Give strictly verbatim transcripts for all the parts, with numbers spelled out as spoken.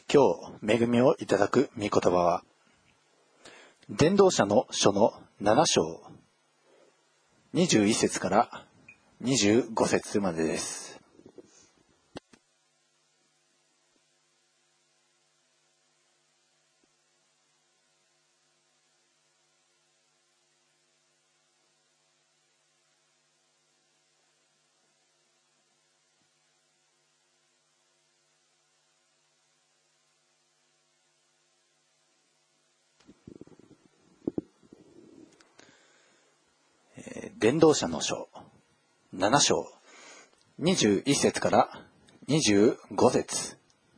今日恵みをいただく御言葉は、伝道者の書のなな章にじゅういっ節からにじゅうご節までです。伝道者の書なな章にじゅういっ節からにじゅうご節。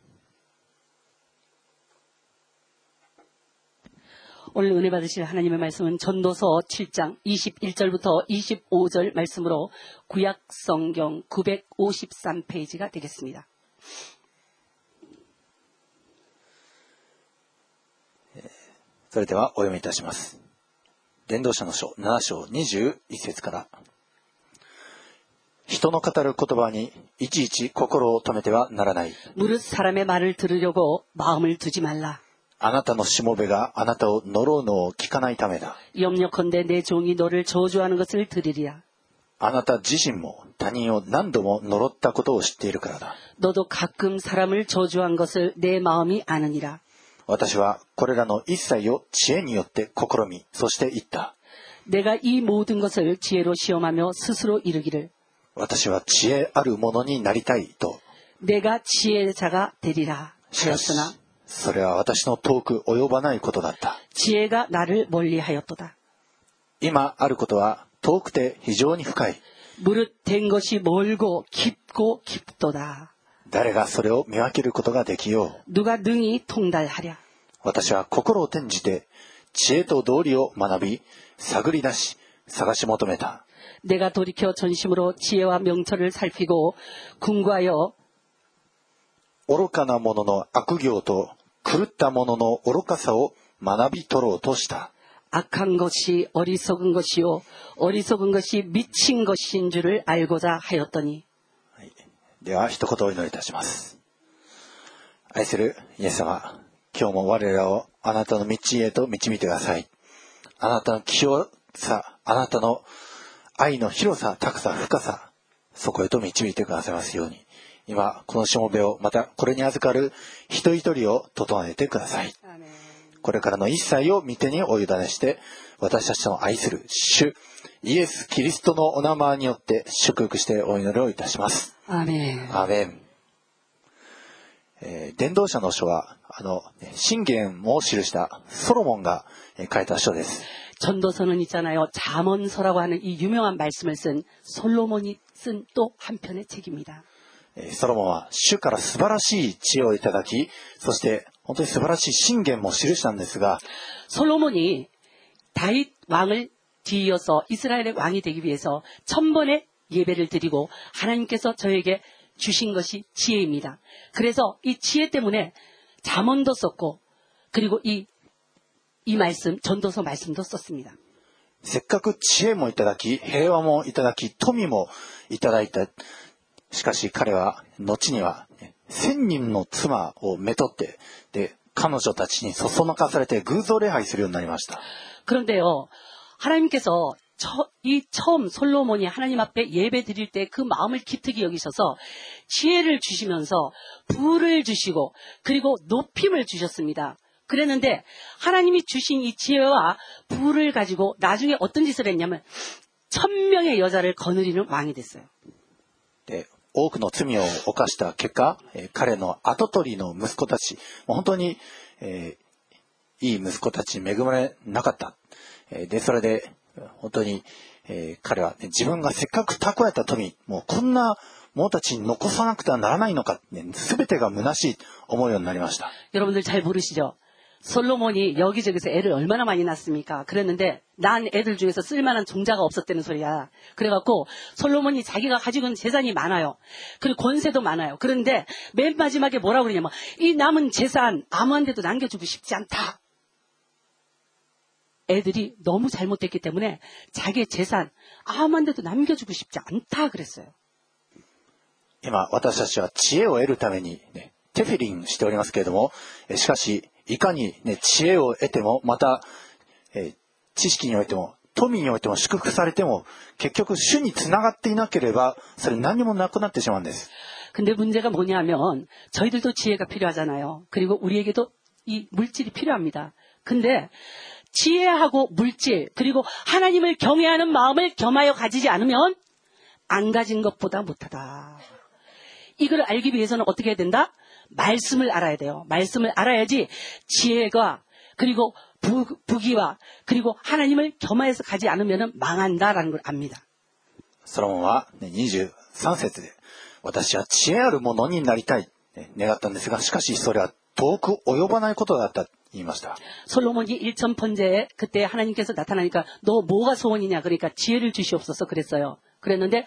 오늘 은혜 받으실 하나님의 말씀은 전도서 칠 장 이십일 절부터 이십오 절 말씀으로 구약 성경 구백오십삼 페이지가 되겠습니다. それではお読みいたします。伝道者の書なな章にじゅういっ節から。人の語る言葉にいちいち心を止めてはならない。 무릇 사람의 말을 들으려고 마음을 두지 말라. あなたのしもべがあなたを呪うのを聞かないためだ。 염려컨대 내 종이 너를 저주하는 것을 들으리라. あなた自身も他人を何度も呪ったことを知っているからだ。 너도 가끔 사람을 저주한 것을 내 마음이 아느니라. 私はこれらの一切を知恵によって試み、そして言った。 내가 이 모든 것을 지혜로 시험하며 스스로 이르기를. 私は知恵あるものになりたいと。 내가 지혜자가 되리라 しかし 하였으나 それは私の遠く及ばないことだった。 지혜가 나를 멀리하였도다. 今あることは遠くて非常に深い。 무릇 된 것이 멀고 깊고 깊도다. 誰がそれを見分けることができよう。 누가 능히 통달하랴. 私は心を転じて知恵と道理を学び、探り出し、探し求めた。 내가 돌이켜 전심으로 지혜와 명철을 살피고 궁구하여 愚かな者の悪行と狂った者の愚かさを学び取ろうとした。 악한 것이 어리석은 것이요 어리석은 것이 미친 것인 줄을 알고자 하였더니. では一言お祈りいたします。愛するイエス様、今日も我らをあなたの道へと導いてください。あなたの清さ、あなたの愛の広さ、高さ、深さ、そこへと導いてくださいますように。今このしもべを、またこれに預かる一人一人を整えてください。これからの一切を御手にお委ねして、私たちの愛する主イエス・キリストのお名前によって祝福してお祈りをいたします。 アーメン。 アーメン。えー、伝道者の書はあの箴言を記したソロモンが書いた書です。 전도서는 있잖아요. 잠언서라고 하는 이 유명한 말씀을 쓴 솔로몬이 쓴 또 한편의 책입니다. ソロモンは主から素晴らしい知恵をいただき、そして本当に素晴らしい箴言も記したんですが、 솔로몬이 다윗 왕을 뒤이어서 이스라엘의 왕이 되기 위해서 천번의 예배를 드리고 하나님께서 저에게 주신 것이 지혜입니다. 그래서 이 지혜 때문에 잠언도 썼고 그리고 이, 이 말씀, 전도서 말씀도 썼습니다. せっかく知恵もいただき、平和もいただき、富もいただいた。しかし彼は後には千人の妻をめとって、で彼女たちにそそのかされて偶像礼拝するようになりました。 그런데요, 하나님께서 처, 이 처음 솔로몬이 하나님 앞에 예배 드릴 때 그 마음을 기특히 여기셔서 지혜를 주시면서 부를 주시고 그리고 높임을 주셨습니다. 그랬는데 하나님이 주신 이 지혜와 부를 가지고 나중에 어떤 짓을 했냐면 천명의 여자를 거느리는 왕이 됐어요. で多くの罪を犯した結果、えー、彼の跡取りの息子たち、もう本当に、えー、いい息子たちに恵まれなかった。えー、でそれで本当に、えー、彼は、ね、自分がせっかく蓄えた富、もうこんな者たちに残さなくてはならないのか、ね、全てが虚しいと思うようになりました。 여러분들 잘 모르시죠? 솔로몬이 여기저기서 애를 얼마나 많이 낳습니까? 그랬는데 난 애들 중에서 쓸만한 종자가 없었다는 소리야. 그래갖고 솔로몬이 자기가 가지고 있는 재산이 많아요. 그리고 권세도 많아요. 그런데 맨 마지막에 뭐라고 그러냐면 이 남은 재산 아무한테도 남겨주고 싶지 않다. 애들이 너무 잘못됐기 때문에 자기의 재산 아무한테도 남겨주고 싶지 않다 그랬어요. 今私たちは知恵を得るために、ね、 テフィリンしておりますけれども、しかしいかに、ね、知恵を得ても、また、えー、知識においても富においても祝福されても結局主につながっていなければそれ何もなくなってしまうんです。 근데 문제가 뭐냐면 저희들도 지혜가 필요하잖아요. 그리고 우리에게도 이 물질이 필요합니다. 근데 지혜하고 물질 그리고 하나님을 경외하는 마음을 겸하여 가지지 않으면 안 가진 것보다 못하다. 이걸 알기 위해서는 어떻게 해야 된다? 말씀을 알아야 돼요. 말씀을 알아야지 지혜가 그리고 부, 부귀와 그리고 하나님을 겸하여서 가지 않으면 망한다라는 걸 압니다. ソロモンはにじゅうさん節で私は知恵あるものになりたい願ったんですがしかしそれは遠く及ばないことだったと言いました。 솔로몬이 일천 번제에 그때 하나님께서 나타나니까 너 뭐가 소원이냐 그러니까 지혜를 주시옵소서 그랬어요. 그랬는데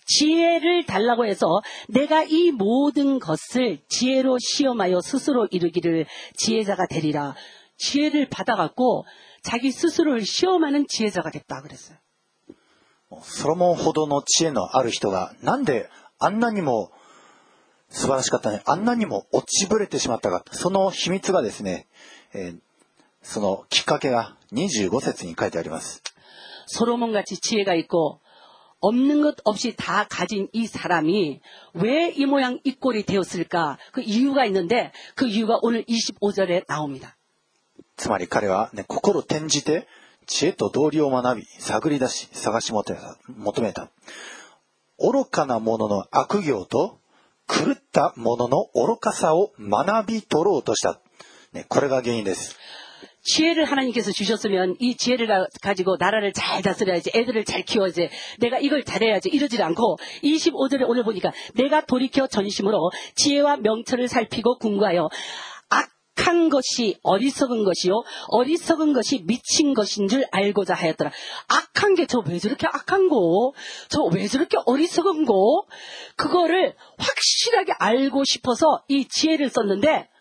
지혜를 달라고 해서 내가 이 모든 것을 지혜로 시험하여 스스로 이루기를 지혜자가 되리라. 지혜를 받아갖고 자기 스스로를 시험하는 지혜자가 됐다 그랬어요. ソロモンほどの知恵のある人がなんであんなにも素晴らしかったね、あんなにも落ちぶれてしまったか、その秘密がですね、えー、そのきっかけがにじゅうご節に書いてあります。 솔로몬 같이 지혜가 있고 없는 것 없이 다 가진 이 사람이 왜 이 모양 이 꼴이 되었을까? 그 이유가 있는데 그 이유가 오늘 이십오 절에 나옵니다. つまり彼は、ね、心転じて知恵と道理を学び探り出し探し求めた。愚かな者の悪行と狂った者の愚かさを学び取ろうとした。ね、これが原因です。 지혜를 하나님께서 주셨으면 이 지혜를 가지고 나라를 잘 다스려야지, 애들을 잘 키워야지, 내가 이걸 잘해야지 이러지 않고 이십오 절에 오늘 보니까 내가 돌이켜 전심으로 지혜와 명철을 살피고 궁구하여 악한 것이 어리석은 것이요 어리석은 것이 미친 것인 줄 알고자 하였더라. 악한 게 저 왜 저렇게 악한 거, 저 왜 저렇게 어리석은 거, 그거를 확실하게 알고 싶어서 이 지혜를 썼는데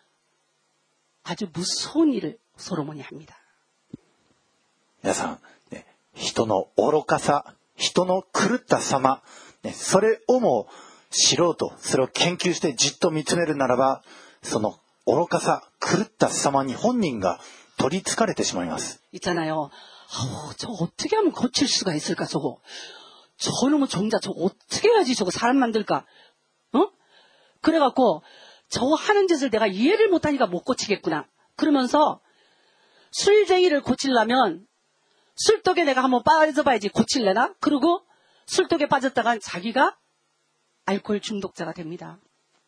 아주 무서운 일을 솔로몬이 합니다. 皆さん、ね、人の愚かさ、人の狂った様、ね、それをも知ろうと、それを研究してじっと見つめるならば、その愚かさ、狂った様に本人が取り憑かれてしまいます。 있잖아요. 아우, 저 어떻게 하면 고칠 수가 있을까 저거. 저놈의 종자 저거 어떻게 해야지 저거 사람 만들까. 어? 그래갖고 저 하는 짓을 내가 이해를 못하니까 못 고치겠구나. 그러면서 술쟁이를 고치려면 술독에 내가 한번 빠져봐야지 고칠래나? 그리고 술독에 빠졌다간 자기가 알코올 중독자가 됩니다.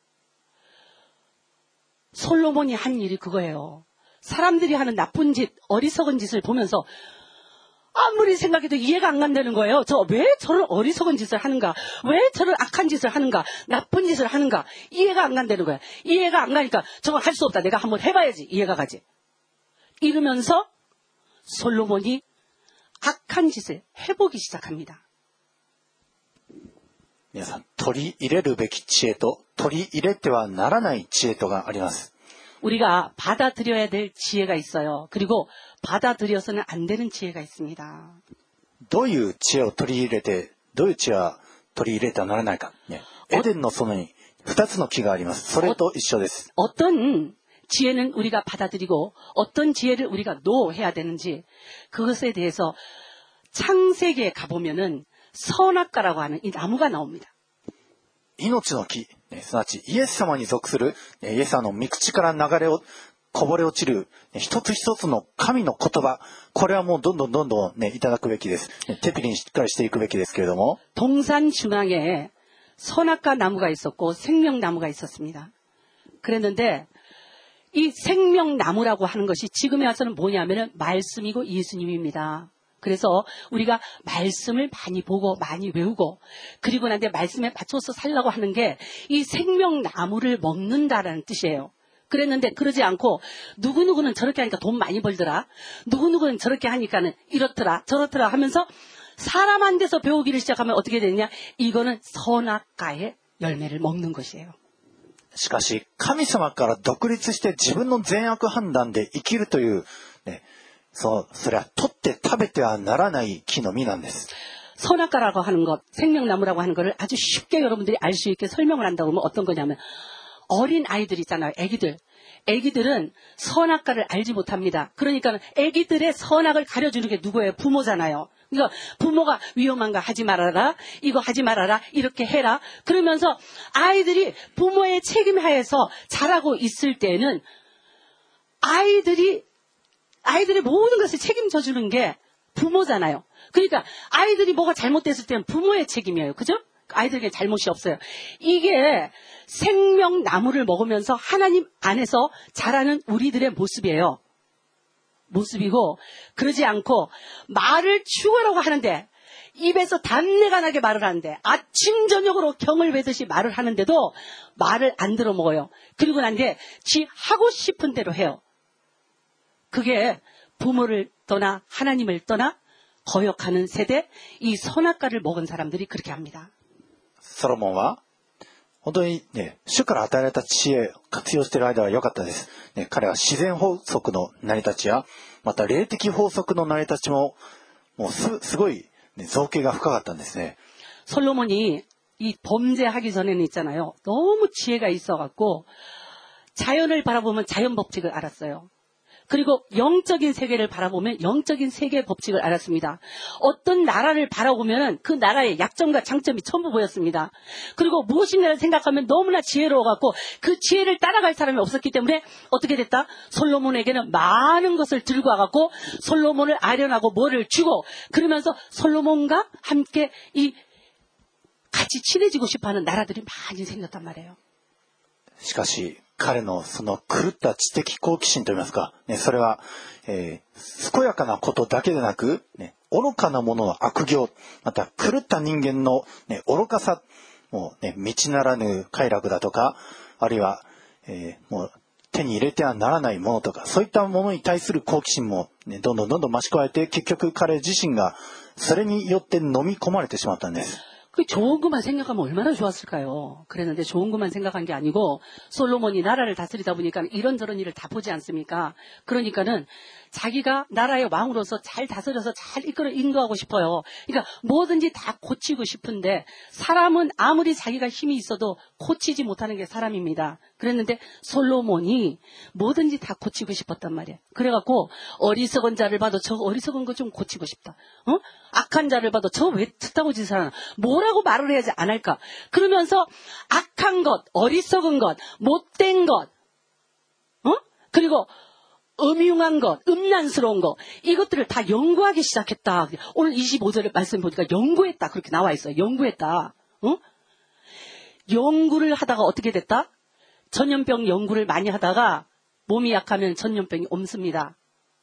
솔로몬이 한 일이 그거예요. 사람들이 하는 나쁜 짓, 어리석은 짓을 보면서 아무리 생각해도 이해가 안 간다는 거예요. 저 왜 저런 어리석은 짓을 하는가? 왜 저런 악한 짓을 하는가? 나쁜 짓을 하는가? 이해가 안 간다는 거예요. 이해가 안 가니까 저건 할 수 없다. 내가 한번 해봐야지 이해가 가지. 이러면서 솔로몬이 악한 짓을 해보기 시작합니다. 皆さん、取り入れるべき知恵と取り入れてはならない知恵とがあります。 우리가 받아들여야 될 지혜가 있어요. 그리고 받아들여서는 안 되는 지혜가 있습니다. どういう知恵を取り入れて、どういう知恵は取り入れてはならないか。ね、エデンの園に二つの木があります。それと一緒です。 어떤 지혜는 우리가 받아들이고 어떤 지혜를 우리가 노해야 되는지 그것에 대해서 창세기에 가보면은 선악과라고 하는 이 나무가 나옵니다. 命の木、ね、すなわちイエス様に属する、ね、イエス様の御口から流れをこぼれ落ちる、ね、一つ一つの神の言葉、これはもうどんどんどんどん、ね、いただくべきです。ね、手ピリにしっかりしていくべきですけれども。 동산 중앙에 선악과 나무가 있었고 생명나무가 있었습니다. 그랬는데 이 생명나무라고 하는 것이 지금에 와서는 뭐냐면은 말씀이고 예수님입니다. 그래서 우리가 말씀을 많이 보고 많이 외우고 그리고 난데 말씀에 맞춰서 살라고 하는 게 이 생명나무를 먹는다라는 뜻이에요. 그랬는데 그러지 않고 누구누구는 저렇게 하니까 돈 많이 벌더라. 누구누구는 저렇게 하니까는 이렇더라 저렇더라 하면서 사람한테서 배우기를 시작하면 어떻게 되느냐. 이거는 선악과의 열매를 먹는 것이에요. しかし神様から独立して自分の善悪判断で生きるという、ね、そう、それは取って食べてはならない木の実なんです。 선악과라고 하는 것, 생명나무라고 하는 것을 아주 쉽게 여러분들이 알 수 있게 설명을 한다고 하면 어떤 거냐면 어린 아이들 있잖아요. 애기들. 애기들은 선악과를 알지 못합니다. 그러니까 애기들의 선악을 가려주는 게 누구예요? 부모잖아요. 그러니까 부모가 위험한 거 하지 말아라, 이거 하지 말아라, 이렇게 해라. 그러면서 아이들이 부모의 책임 하에서 자라고 있을 때는 아이들이 아이들의 모든 것을 책임져 주는 게 부모잖아요. 그러니까 아이들이 뭐가 잘못됐을 때는 부모의 책임이에요. 그죠? 아이들에게 잘못이 없어요. 이게 생명나무를 먹으면서 하나님 안에서 자라는 우리들의 모습이에요. 모습이고, 그러지 않고 말을 죽으라고 하는데, 입에서 단내가 나게 말을 하는데, 아침 저녁으로 경을 베듯이 말을 하는데도 말을 안 들어 먹어요. 그리고 난 뒤에 지 하고 싶은 대로 해요. 그게 부모를 떠나 하나님을 떠나 거역하는 세대, 이 선악과를 먹은 사람들이 그렇게 합니다. ソロモンは本当にね、主から与えられた知恵を活用している間は良かったです。ね、彼は自然法則の成り立ちや、また霊的法則の成り立ちも、もう す, すごい、ね、造形が深かったんですね。 솔로몬이 이 범죄하기 전에는 있잖아요. 너무 지혜가 있어갖고 자연을 바라보면 자연 법칙을 알았어요. 그리고 영적인 세계를 바라보면 영적인 세계의 법칙을 알았습니다. 어떤 나라를 바라보면 그 나라의 약점과 장점이 전부 보였습니다. 그리고 무엇인가를 생각하면 너무나 지혜로워갖고 그 지혜를 따라갈 사람이 없었기 때문에 어떻게 됐다? 솔로몬에게는 많은 것을 들고 와갖고 솔로몬을 아련하고 뭐를 주고, 그러면서 솔로몬과 함께 이 같이 친해지고 싶어하는 나라들이 많이 생겼단 말이에요. しかし彼のその狂った知的好奇心といいますか、ね、それは、えー、健やかなことだけでなく、ね、愚かなものの悪行、また狂った人間の、ね、愚かさ、もうね、道ならぬ快楽だとか、あるいは、えー、もう手に入れてはならないものとか、そういったものに対する好奇心も、ね、どんどんどんどん増し加えて、結局彼自身がそれによって飲み込まれてしまったんです。 그 좋은 것만 생각하면 얼마나 좋았을까요? 그랬는데 좋은 것만 생각한 게 아니고 솔로몬이 나라를 다스리다 보니까 이런저런 일을 다 보지 않습니까? 그러니까는 자기가 나라의 왕으로서 잘 다스려서 잘 이끌어 인도하고 싶어요. 그러니까 뭐든지 다 고치고 싶은데 사람은 아무리 자기가 힘이 있어도 고치지 못하는 게 사람입니다. 그랬는데 솔로몬이 뭐든지 다 고치고 싶었단 말이에요. 그래갖고 어리석은 자를 봐도 저 어리석은 거 좀 고치고 싶다. 어? 악한 자를 봐도 저 왜 특다고 짓을 하나? 뭐라고 말을 해야지 안 할까? 그러면서 악한 것, 어리석은 것, 못된 것, 어? 그리고 음흉한 것, 음란스러운 것, 이것들을 다 연구하기 시작했다. 오늘 이십오 절의 말씀 보니까 연구했다. 그렇게 나와 있어요. 연구했다. 어? 연구를 하다가 어떻게 됐다? 전염병 연구를 많이 하다가 몸이 약하면 전염병이 옮습니다.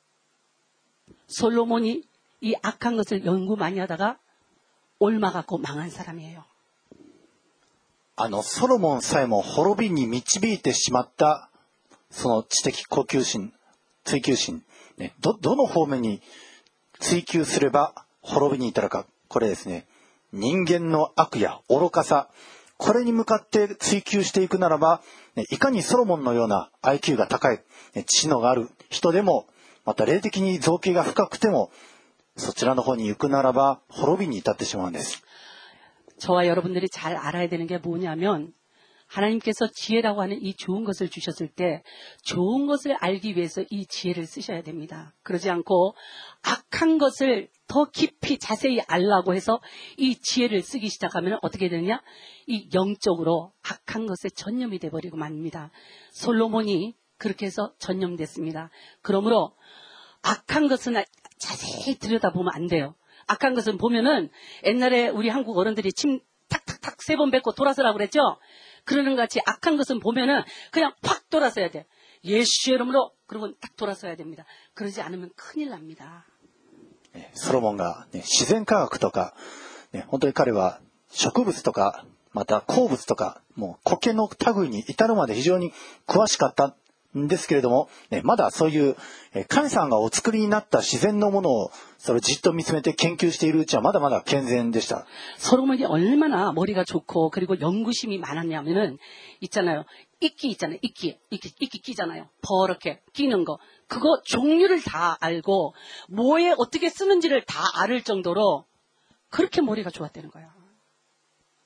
솔로몬이 이 악한 것을 연구 많이 하다가 옮아갖고 망한 사람이에요. あのソロモンさえも滅びに導いてしまったその知的好奇心、追求心、ね、どどの方面に追求すれば滅びに至るか、これですね、人間の悪や愚かさ、これに向かって追求していくならば、ね、いかにソロモンのような アイキュー が高い、ね、知能がある人でも、また霊的に造形が深くても、そちらの方に行くならば滅びに至ってしまうんです。 저와 여러분들이 잘 알아야 되는 게 뭐냐면 하나님께서 지혜라고 하는 이 좋은 것을 주셨을 때 좋은 것을 알기 위해서 이 지혜를 쓰셔야 됩니다. 그러지 않고 악한 것을 더 깊이 자세히 알라고 해서 이 지혜를 쓰기 시작하면 어떻게 되느냐? 이 영적으로 악한 것에 전념이 돼버리고 맙니다. 솔로몬이 그렇게 해서 전념됐습니다. 그러므로 악한 것은 자세히 들여다보면 안 돼요. 악한 것은 보면은 옛날에 우리 한국 어른들이 침 탁탁탁 세 번 뱉고 돌아서라고 그랬죠? 그러는 것 같이 악한 것은 보면은 그냥 확 돌아서야 돼. 예수의 이름으로 그러고 딱 돌아서야 됩니다. 그러지 않으면 큰일 납니다. ソロモンが、ね、自然科学とか、ね、本当に彼は植物とか、また鉱物とか、もう苔の類に至るまで非常に詳しかったんですけれども、ね、まだそういう神様がお作りになった自然のものをそれをじっと見つめて研究しているうちはまだまだ健全でした。 솔로몬이 얼마나 머리가 좋고 그리고 연구심이 많았냐면은 있잖아요. 이끼 있잖아요. 이끼, 이끼, 이끼 끼잖아요. 버렇게 끼는 거. 그거 종류를 다 알고 뭐에 어떻게 쓰는지를 다 알을 정도로 그렇게 머리가 좋았다는 거예요.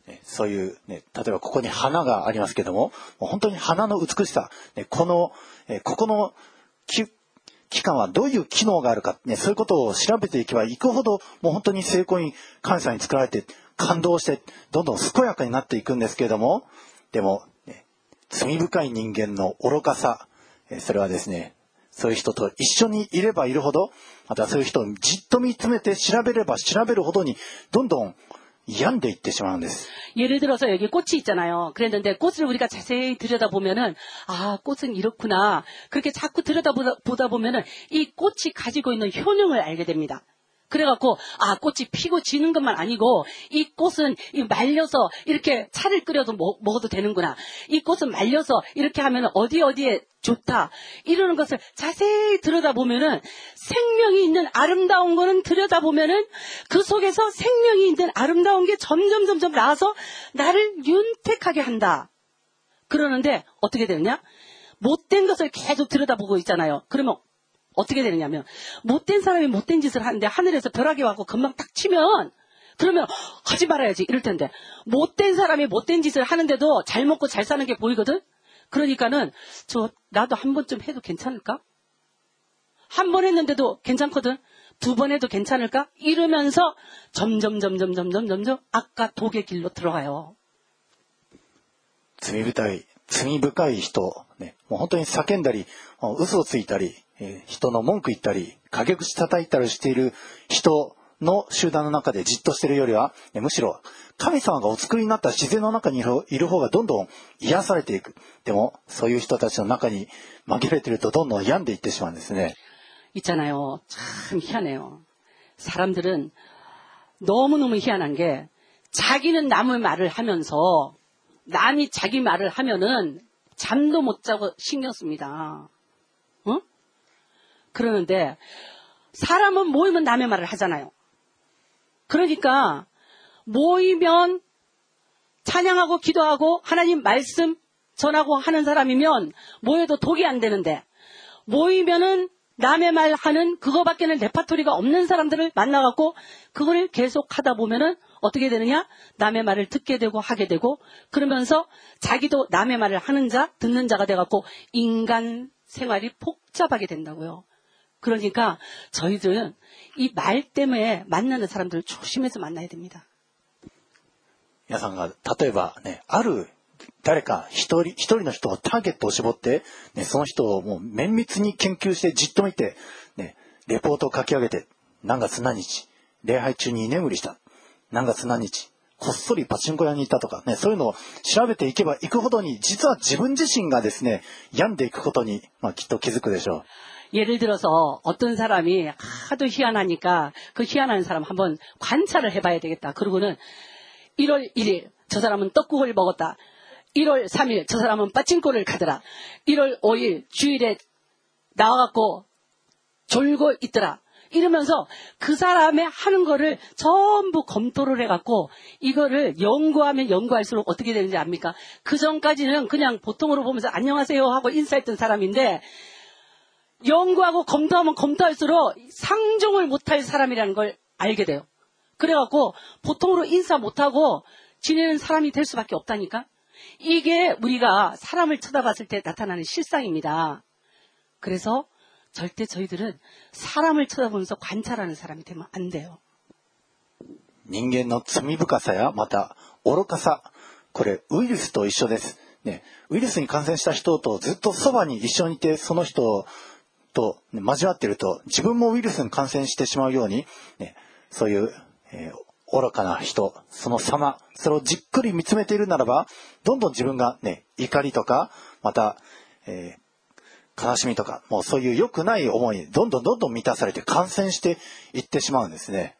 ね、そういう、ね、例えばここに花がありますけども、もう本当に花の美しさ、ね、この、えー、ここのき器官はどういう機能があるか、ね、そういうことを調べていけばいくほど、もう本当に精巧に神様に作られて感動してどんどん健やかになっていくんですけれども、でも、ね、罪深い人間の愚かさ、えー、それはですね、そういう人と一緒にいればいるほど、またそういう人をじっと見つめて調べれば調べるほどにどんどん病んでいってしまうんです。 예를 들어서 여기 꽃이 있잖아요. 그랬는데 꽃을 우리가 자세히 들여다보면은 아, 꽃은 이렇구나. 그렇게 자꾸 들여다보다 보면은 이 꽃이 가지고 있는 효능을 알게 됩니다. 그래갖고 아, 꽃이 피고 지는 것만 아니고 이 꽃은 말려서 이렇게 차를 끓여도 먹, 먹어도 되는구나. 이 꽃은 말려서 이렇게 하면 어디 어디에 좋다. 이러는 것을 자세히 들여다보면은 생명이 있는 아름다운 거는 들여다보면은 그 속에서 생명이 있는 아름다운 게 점점 점점 나와서 나를 윤택하게 한다. 그러는데 어떻게 되느냐? 못된 것을 계속 들여다보고 있잖아요. 그러면 어떻게 되느냐면 못된 사람이 못된 짓을 하는데 하늘에서 벼락이 와서 금방 딱 치면 그러면 하지 말아야지 이럴 텐데 못된 사람이 못된 짓을 하는데도 잘 먹고 잘 사는 게 보이거든. 그러니까는 저 나도 한 번쯤 해도 괜찮을까? 한 번 했는데도 괜찮거든. 두 번 해도 괜찮을까? 이러면서 점점 점점 점점 점점 아까 독의 길로 들어가요. 罪深い、罪深い人、ね、もう本当に叫んだり、嘘をついたり、えー、人の文句言ったり、陰口叩いたりしている人の集団の中でじっとしているよりは、ね、むしろ神様がお作りになった自然の中にいる方がどんどん癒されていく。でもそういう人たちの中に紛れているとどんどん病んでいってしまうんですね。 있잖아요. 참 희한해요. 사람들은 너무너무 희한한 게 자기는 남의 말을 하면서 남이 자기 말을 하면은 잠도 못 자고 신경 씁니다. 어? 그러는데 사람은 모이면 남의 말을 하잖아요. 그러니까 모이면 찬양하고 기도하고 하나님 말씀 전하고 하는 사람이면 모여도 독이 안 되는데 모이면은 남의 말 하는 그거밖에는 레파토리가 없는 사람들을 만나갖고 그걸 계속 하다 보면은 어떻게 되느냐? 남의 말을 듣게 되고 하게 되고 그러면서 자기도 남의 말을 하는 자, 듣는 자가 돼갖고 인간 생활이 복잡하게 된다고요. 그러니까 저희들은 이 말 때문에 만나는 사람들을 조심해서 만나야 됩니다. 皆さんが例えばね、ある誰か一人一人の人をターゲットを絞って、ね、その人をもう綿密に研究してじっと見て、ね、レポートを書き上げて、何月何日礼拝中に居眠りした、何月何日こっそりパチンコ屋に行ったとか、ね、そういうのを調べていけばいくほどに実は自分自身がですね病んでいくことに、まあ、きっと気づくでしょう。 예를 들어서 어떤 사람이 하도 희한하니까 그 희한한 사람 한번 관찰을 해봐야 되겠다. 그러고는 일월 일일 저 사람은 떡국을 먹었다. 일월 삼일 저 사람은 빠친코를 가더라. 일월 오일 주일에 나와갖고 졸고 있더라. 이러면서 그 사람의 하는 거를 전부 검토를 해갖고 이거를 연구하면 연구할수록 어떻게 되는지 압니까? 그 전까지는 그냥 보통으로 보면서 안녕하세요 하고 인사했던 사람인데 연구하고 검토하면 검토할수록 상종을 못할 사람이라는 걸 알게 돼요. 그래갖고 보통으로 인사 못하고 지내는 사람이 될 수밖에 없다니까. 이게 우리가 사람을 쳐다봤을 때 나타나는 실상입니다. 그래서 절대 저희들은 사람을 쳐다보면서 관찰하는 사람이 되면 안 돼요. 人間の罪深さやまた愚かさ、これウイルスと一緒です、ね、ウイルスに感染した人とずっとそばに一緒にいてその人と交わっていると自分もウイルスに感染してしまうように、ね、そういう、えー、愚かな人、その様、それをじっくり見つめているならばどんどん自分が、ね、怒りとかまた、えー、悲しみとかもうそういう良くない思いにどんどんどんどん満たされて感染していってしまうんですね。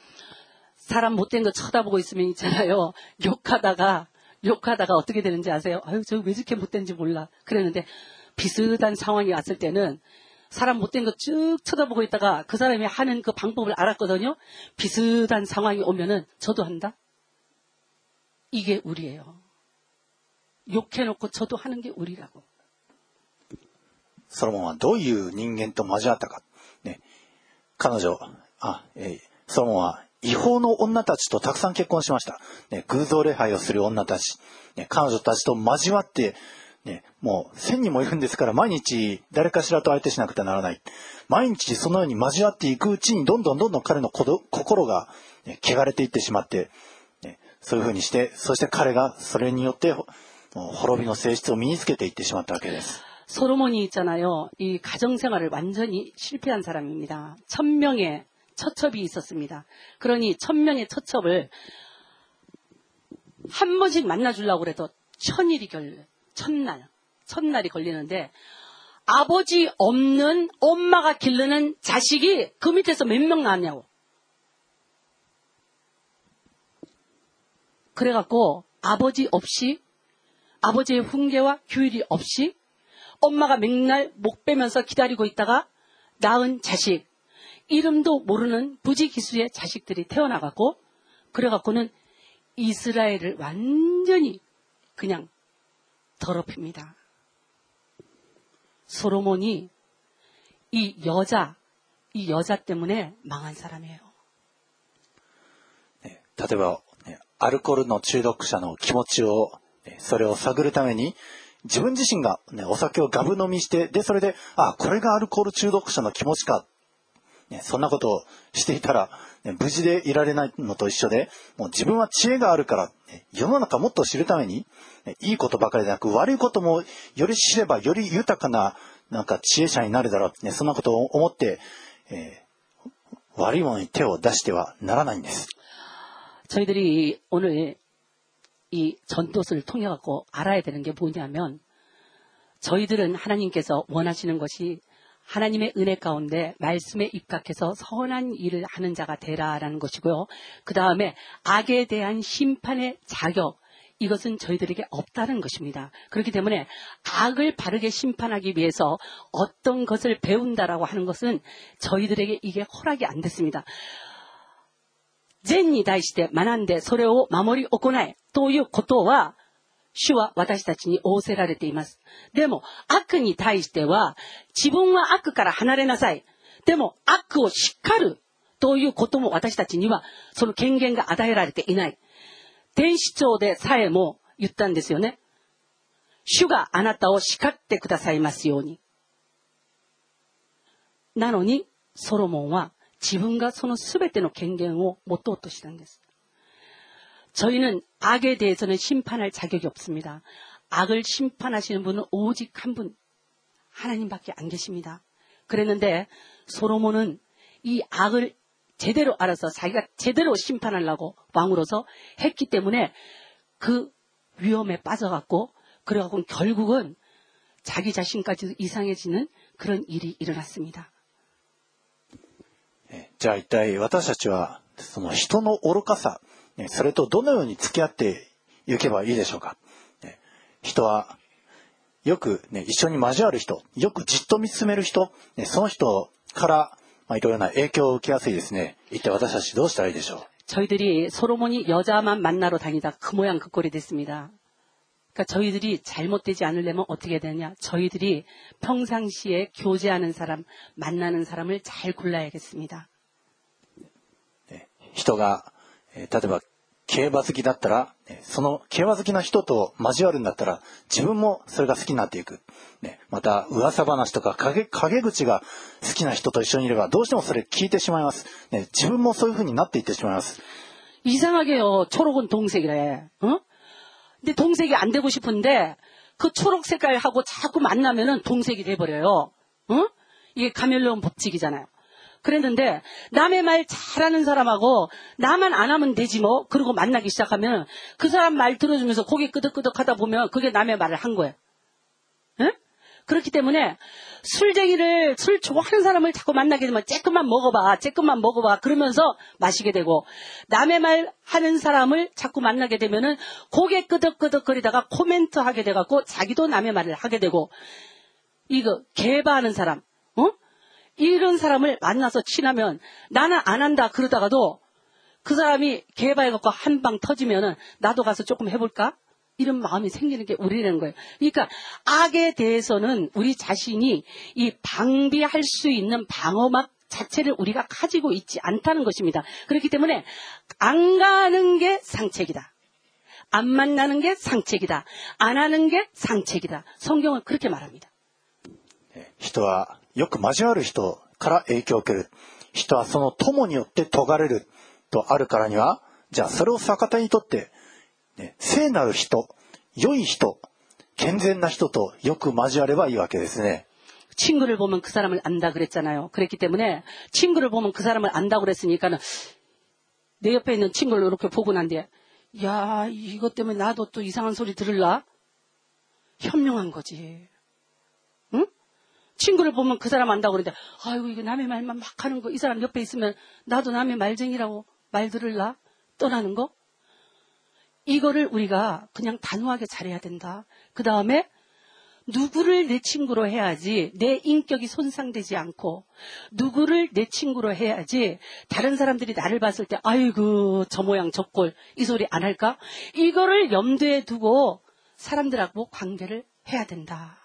사람 못된 거 쳐다보고 있으면 있잖아요. 욕하다가 욕하다가 어떻게 되는지 아세요? 아유 저 왜 이렇게 못된지 몰라. 그랬는데 비슷한 상황이 왔을 때는 사람 못된 거 쭉 쳐다보고 있다가 그 사람이 하는 그 방법을 알았거든요. 비슷한 상황이 오면은 저도 한다. 이게 우리예요. 욕해놓고 저도 하는 게 우리라고. ソロモンはどういう人間と交わったか、ね、彼女あ、えー、ソロモンは違法の女たちとたくさん結婚しました。ね、偶像礼拝をする女たち、ね、彼女たちと交わって、ね、もう千人もいるんですから毎日誰かしらと相手しなくてはならない。毎日そのように交わっていくうちにどんどんどんどん彼の心が、ね、汚れていってしまって、ね、そういうふうにして、そして彼がそれによって滅びの性質を身につけていってしまったわけです。 솔로몬이 있잖아요. 이 가정생활을 완전히 실패한 사람입니다. 천 명의 처첩이 있었습니다. 그러니 천 명의 처첩을 한 번씩 만나주려고 그래도 천일이 걸려. 천날. 천날이 걸리는데 아버지 없는 엄마가 기르는 자식이 그 밑에서 몇 명 나왔냐고. 그래갖고 아버지 없이 아버지의 훈계와 규율이 없이 엄마가 맨날 목 빼면서 기다리고 있다가 낳은 자식, 이름도 모르는 부지기수의 자식들이 태어나갖고 그래갖고는 이스라엘을 완전히 그냥 더럽힙니다. 솔로몬이 이 여자, 이 여자 때문에 망한 사람이에요. 네, 例えば、ね、アルコールの中毒者の気持ちを、ね、それを探るために自分自身が、ね、お酒をガブ飲みして、でそれで、あ、これがアルコール中毒者の気持ちか、ね、そんなことをしていたら、ね、無事でいられないのと一緒で、もう自分は知恵があるから、ね、世の中もっと知るために、ね、いいことばかりでなく悪いこともより知ればより豊かななんか知恵者になるだろう、ね、そんなことを思って、えー、悪いものに手を出してはならないんです。 저희들이 오늘 이 전도서를 통해 갖고 알아야 되는 게 뭐냐면 저희들은 하나님께서 원하시는 것이 하나님의 은혜 가운데 말씀에 입각해서 선한 일을 하는 자가 되라라는 것이고요. 그 다음에 악에 대한 심판의 자격, 이것은 저희들에게 없다는 것입니다. 그렇기 때문에 악을 바르게 심판하기 위해서 어떤 것을 배운다라고 하는 것은 저희들에게 이게 허락이 안 됐습니다. 善に対して学んでそれを守り行えということは主は私たちに仰せられています。でも悪に対しては自分は悪から離れなさい。でも悪を叱るということも私たちにはその権限が与えられていない。天使長でさえも言ったんですよね。主があなたを叱ってくださいますように。なのにソロモンは自分がその全ての権限を持とうとしたんです。 저희는 악에 대해서는 심판할 자격이 없습니다. 악을 심판하시는 분은 오직 한 분, 하나님밖에 안 계십니다. 그랬는데 솔로몬은 이 악을 제대로 알아서 자기가 제대로 심판하려고 왕으로서 했기 때문에 그 위험에 빠져갖고 그래갖고 결국은 자기 자신까지 이상해지는 그런 일이 일어났습니다. じゃあ一体私たちはその人の愚かさ、それとどのように付き合っていけばいいでしょうか。人はよく、ね、一緒に交わる人、よくじっと見つめる人、その人からいろいろな影響を受けやすいですね。一体私たちどうしたらいいでしょう。 저희들이 솔로몬이 여자만 만나러 다니다 그 모양 그 꼴이 됐습니다. 그러니까 저희들이 잘못되지 않으려면 어떻게 되냐? 저희들이 평상시에 교제하는 사람, 만나는 사람을 잘 골라야겠습니다. 人が、例えば競馬好きだったら、その競馬好きな人と交わるんだったら、自分もそれが好きになっていく。また噂話とか陰口が好きな人と一緒にいれば、どうしてもそれ聞いてしまいます。自分もそういう風になっていってしまいます。 이상하게요. 초록은 동색이래. 어? 근데 동색이 안 되고 싶은데 그 초록 색깔하고 자꾸 만나면은 동색이 돼버려요. 어? 이게 카멜레온 법칙이잖아요. 그랬는데 남의 말 잘하는 사람하고 나만 안 하면 되지 뭐. 그러고 만나기 시작하면 그 사람 말 들어주면서 고개 끄덕끄덕 하다 보면 그게 남의 말을 한 거예요. 에? 그렇기 때문에 술쟁이를 술 좋아하는 사람을 자꾸 만나게 되면 쬐끔만 먹어봐 쬐끔만 먹어봐 그러면서 마시게 되고, 남의 말 하는 사람을 자꾸 만나게 되면은 고개 끄덕끄덕거리다가 코멘트 하게 돼갖고 자기도 남의 말을 하게 되고, 이거 개바하는 사람, 어? 이런 사람을 만나서 친하면 나는 안 한다 그러다가도 그 사람이 개바해갖고 한 방 터지면은 나도 가서 조금 해볼까? 이런 마음이 생기는 게 우리라는 거예요. 그러니까 악에 대해서는 우리 자신이 이 방비할 수 있는 방어막 자체를 우리가 가지고 있지 않다는 것입니다. 그렇기 때문에 안 가는 게 상책이다. 안 만나는 게 상책이다. 안 하는 게 상책이다. 성경은 그렇게 말합니다. 人はよく交わる人から影響を受ける。人はその友によって説がれるとあるからには、じゃあそれを逆手にとって、ね、聖なる人、良い人、健全な人とよく交わればいいわけですね。 친구를 보면 그 사람을 안다 그랬잖아요. 그랬기 때문에 친구를 보면 그 사람을 안다 그랬으니까는 내 옆에 있는 친구를 이렇게 보고 난 뒤에 야, 이것 때문에 나도 또 이상한 소리 들을라? 현명한 거지. 응? 친구를 보면 그 사람 안다고 그러는데 아이고 이거 남의 말만 막 하는 거 이 사람 옆에 있으면 나도 남의 말쟁이라고 말 들을라? 떠나는 거? 이거를 우리가 그냥 단호하게 잘해야 된다. 그 다음에 누구를 내 친구로 해야지 내 인격이 손상되지 않고 누구를 내 친구로 해야지 다른 사람들이 나를 봤을 때 아이고 저 모양 저 꼴 이 소리 안 할까? 이거를 염두에 두고 사람들하고 관계를 해야 된다.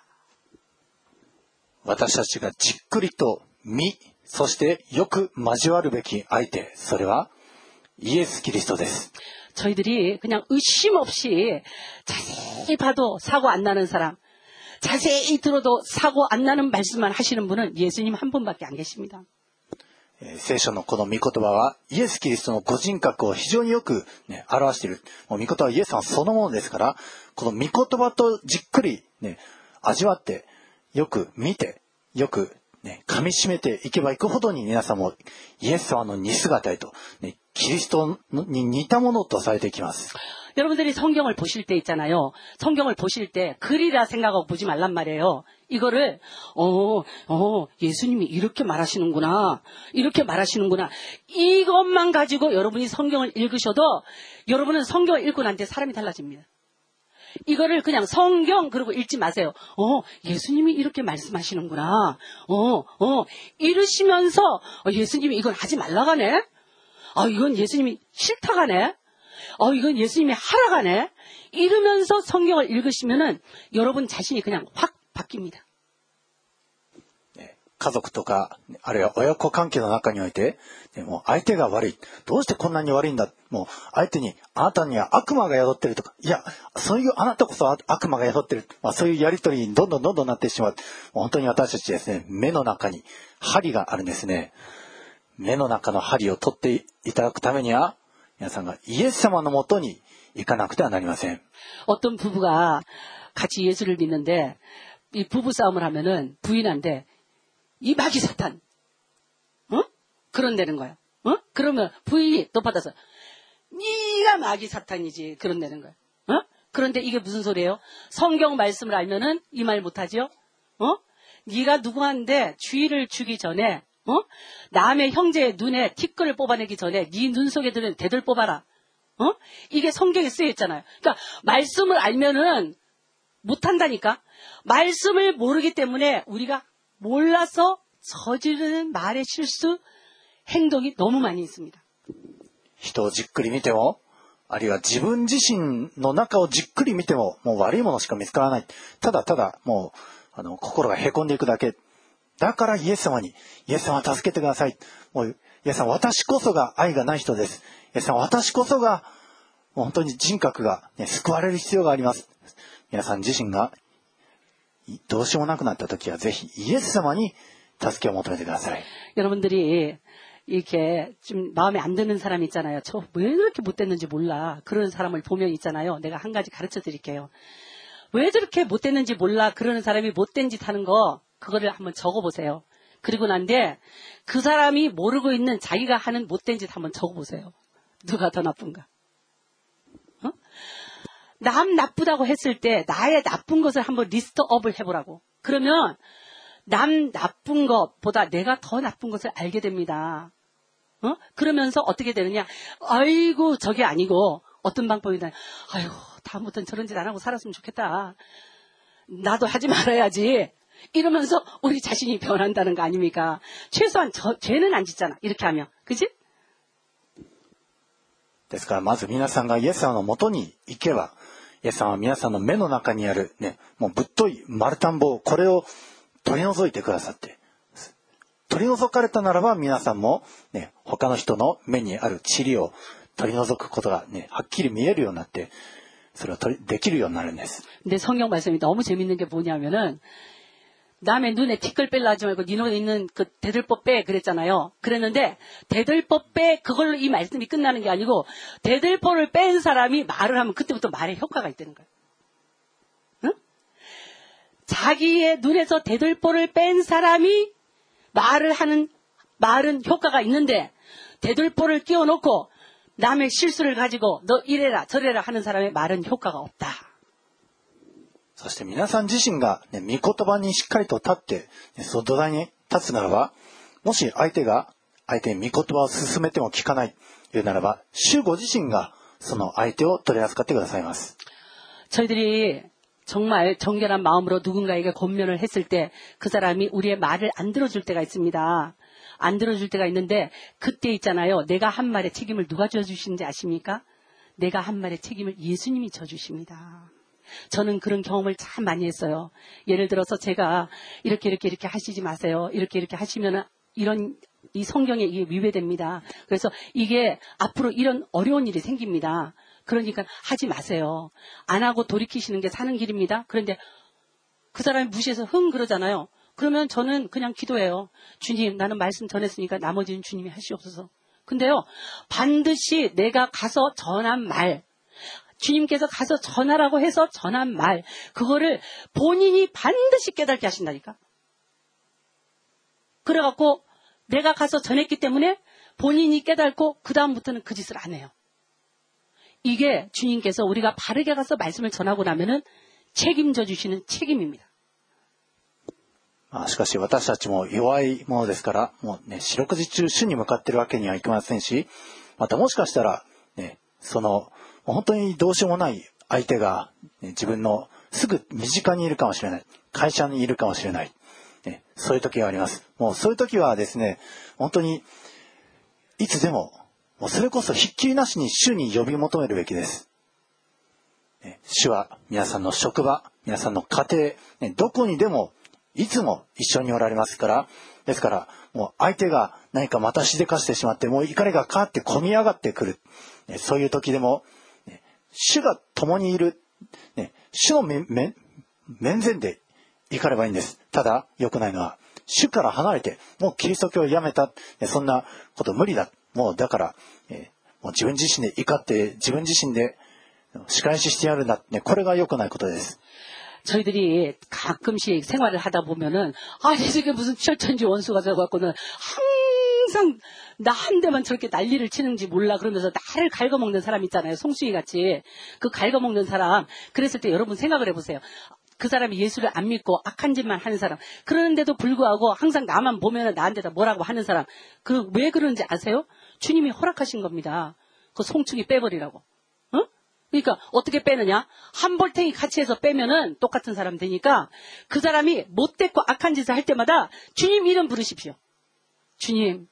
私たちがじっくりと見、そしてよく交わるべき相手、それはイエス・キリストです。 저희들이 그냥 의심 없이 자세히 봐도 사고 안 나는 사람, 자세히 들어도 사고 안 나는 말씀만 하시는 분은 예수님 한 분밖에 안 계십니다. 聖書のこの御言葉はイエス・キリストのご人格を非常によく、ね、表している。もう御言葉はイエス様そのものですから、この御言葉とじっくり、ね、味わって、よく見て、よく、ね、噛み締めていけばいくほどに皆さんもイエス様の似姿へと、ね、キリストに似たものとされていきます。 여러분들이 성경을 보실 때 있잖아요. 성경을 보실 때 글이라 생각하고 보지 말란 말이에요. 이거를 어, 어, 예수님이 이렇게 말하시는구나. 이렇게 말하시는구나. 이것만 가지고 여러분이 성경을 읽으셔도 여러분은 성경을 읽고 난 뒤에 사람이 달라집니다. 이거를 그냥 성경 그러고 읽지 마세요. 어, 예수님이 이렇게 말씀하시는구나. 어, 어, 이러시면서 어, 예수님이 이건 하지 말라고 하네. 아, 이건 예수님이 싫다고 하네. 어, 이건 예수님이 하라고 하네. 이러면서 성경을 읽으시면은 여러분 자신이 그냥 확 바뀝니다. 家族とか、あるいは親子関係の中において、もう相手が悪い。どうしてこんなに悪いんだ。もう相手に、あなたには悪魔が宿ってるとか、いや、そういうあなたこそ悪魔が宿ってる。まあ、そういうやりとりにどんどんどんどんなってしまう。もう本当に私たちですね、目の中に針があるんですね。目の中の針を取っていただくためには、皆さんがイエス様のもとに行かなくてはなりません。 어떤 부부가 같이 예수를 믿는데 이 부부 싸움을 하면은 부인한테 이 마귀 사탄, 어? 그런다는 거야. 어? 그러면 부인이 또 받아서 네가 마귀 사탄이지 그런다는 거야. 어? 그런데 이게 무슨 소리예요? 성경 말씀을 알면은 이 말 못하죠? 어? 네가 누구한테 주의를 주기 전에, 어? 남의 형제의 눈에 티끌을 뽑아내기 전에 네 눈 속에 드는 대들 뽑아라. 어? 이게 성경에 쓰여 있잖아요. 그러니까 말씀을 알면은 못한다니까. 말씀을 모르기 때문에 우리가 몰라서 저지르는 말의 실수, 행동이 너무 많이 있습니다. 人をじっくり見ても、あるいは自分自身の中をじっくり見ても、もう悪いものしか見つからない。ただただもうあの心がへこんでいくだけ。だからイエス様に、イエス様助けてください。もうイエス様、私こそが愛がない人です。イエス様、私こそがもう本当に人格が、ね、救われる必要があります。皆さん自身がどうしようもなくなった時はぜひイエス様に助けを求めてください。 여러분들이 이렇게 좀 마음에 안 드는 사람 있잖아요. 저 왜 이렇게 못됐는지 몰라. 그런 사람을 보면 있잖아요. 내가 한 가지 가르쳐 드릴게요. 왜 저렇게 못됐는지 몰라. 그러는 사람이 못된 짓 하는 거 그거를 한번 적어보세요. 그리고 난데 그 사람이 모르고 있는 자기가 하는 못된 짓 한번 적어보세요. 누가 더 나쁜가. 어? 남 나쁘다고 했을 때 나의 나쁜 것을 한번 리스트업을 해보라고. 그러면 남 나쁜 것보다 내가 더 나쁜 것을 알게 됩니다. 어? 그러면서 어떻게 되느냐. 아이고 저게 아니고 어떤 방법이다. 아이고 다음부터는 저런 짓 안 하고 살았으면 좋겠다. 나도 하지 말아야지. 이러면서 우리 자신이 변한다는 거 아닙니까? 최소한 저, 죄는 안 짓잖아. 이렇게 하면. 그지? ですからまず皆さんがイエス様のもとに行けば、イエス様は皆さんの目の中にあるね、もうぶっとい丸田んぼをこれを取り除いてくださって、 取り除かれたならば皆さんも、ね、他の人の目にある塵を取り除くことが、ね、はっきり見えるようになって、それを取りできるようになるんです。 근데 성경 말씀이 너무 재밌는 게 뭐냐면은 남의 눈에 티끌 뺄라 하지 말고 네 눈에 있는 그 대들보 빼 그랬잖아요. 그랬는데 대들보 빼 그걸로 이 말씀이 끝나는 게 아니고 대들보를 뺀 사람이 말을 하면 그때부터 말에 효과가 있다는 거예요. 응? 자기의 눈에서 대들보를 뺀 사람이 말을 하는 말은 효과가 있는데 대들보를 끼워놓고 남의 실수를 가지고 너 이래라 저래라 하는 사람의 말은 효과가 없다. そして皆さん自身が、ね、御言葉にしっかりと立って、ね、その土台に立つならば、もし相手が相手に御言葉を進めても聞かないというならば、主ご自身がその相手を取り扱ってくださいます。 저희들이 정말 정결한 마음으로 누군가에게 권면을 했을 때 그 사람이 우리의 말을 안 들어줄 때가 있습니다. 안 들어줄 때가 있는데 그때 있잖아요. 내가 한 말의 책임을 누가 져주시는지 아십니까? 내가 한 말의 책임을 예수님이 져주십니다. 저는 그런 경험을 참 많이 했어요. 예를 들어서 제가 이렇게 이렇게 이렇게 하시지 마세요. 이렇게 이렇게 하시면 이런 이 성경에 이게 위배됩니다. 그래서 이게 앞으로 이런 어려운 일이 생깁니다. 그러니까 하지 마세요. 안 하고 돌이키시는 게 사는 길입니다. 그런데 그 사람이 무시해서 흥 그러잖아요. 그러면 저는 그냥 기도해요. 주님, 나는 말씀 전했으니까 나머지는 주님이 하시옵소서. 근데요, 반드시 내가 가서 전한 말, 주님께서 가서 전하라고 해서 전한 말, 그거를 본인이 반드시 깨닫게 하신다니까. 그래갖고 내가 가서 전했기 때문에 본인이 깨닫고 그 다음부터는 그 짓을 안 해요. 이게 주님께서 우리가 바르게 가서 말씀을 전하고 나면은 책임져 주시는 책임입니다. まあ、しかし私たちも弱いものですから、もうね、四六時中主に向かっているわけにはいきませんし、またもしかしたら、ね、その、本当にどうしようもない相手が、ね、自分のすぐ身近にいるかもしれない。会社にいるかもしれない。ね、そういう時があります。もうそういう時はですね、本当に、いつでも、もうそれこそひっきりなしに主に呼び求めるべきです。ね、主は皆さんの職場、皆さんの家庭、ね、どこにでも、いつも一緒におられますから、ですから、もう相手が何かまたしでかしてしまって、もう怒りがカーって込み上がってくる。ね、そういう時でも、ね、主が共にいる、ね、主の面前で怒ればいいんです。ただ、良くないのは、主から離れて、もうキリスト教をやめた、ね、そんなこと無理だ。もうだから、えー、もう自分自身で怒って、自分自身で仕返ししてやるんだ。ね、これが良くないことです。 저희들이 가끔씩 생활을 하다 보면은 아, 이게 무슨 철천지 원수가 되어갖고는 항상 나 한 대만 저렇게 난리를 치는지 몰라 그러면서 나를 갉아먹는 사람 있잖아요. 송수희 같이 그 갉아먹는 사람. 그랬을 때 여러분 생각을 해보세요. 그 사람이 예수를 안 믿고 악한 짓만 하는 사람. 그러는데도 불구하고 항상 나만 보면은 나한테 다 뭐라고 하는 사람. 그 왜 그러는지 아세요? 주님이 허락하신 겁니다. 그 송충이 빼버리라고. 그러니까 어떻게 빼느냐? 한 볼탱이 같이 해서 빼면은 똑같은 사람 되니까 그 사람이 못됐고 악한 짓을 할 때마다 주님 이름 부르십시오. 주님,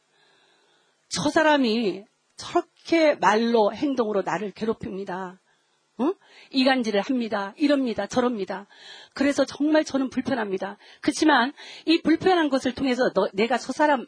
저 사람이 저렇게 말로 행동으로 나를 괴롭힙니다. 어? 이간질을 합니다. 이럽니다. 저럽니다. 그래서 정말 저는 불편합니다. 그렇지만 이 불편한 것을 통해서 너, 내가 저 사람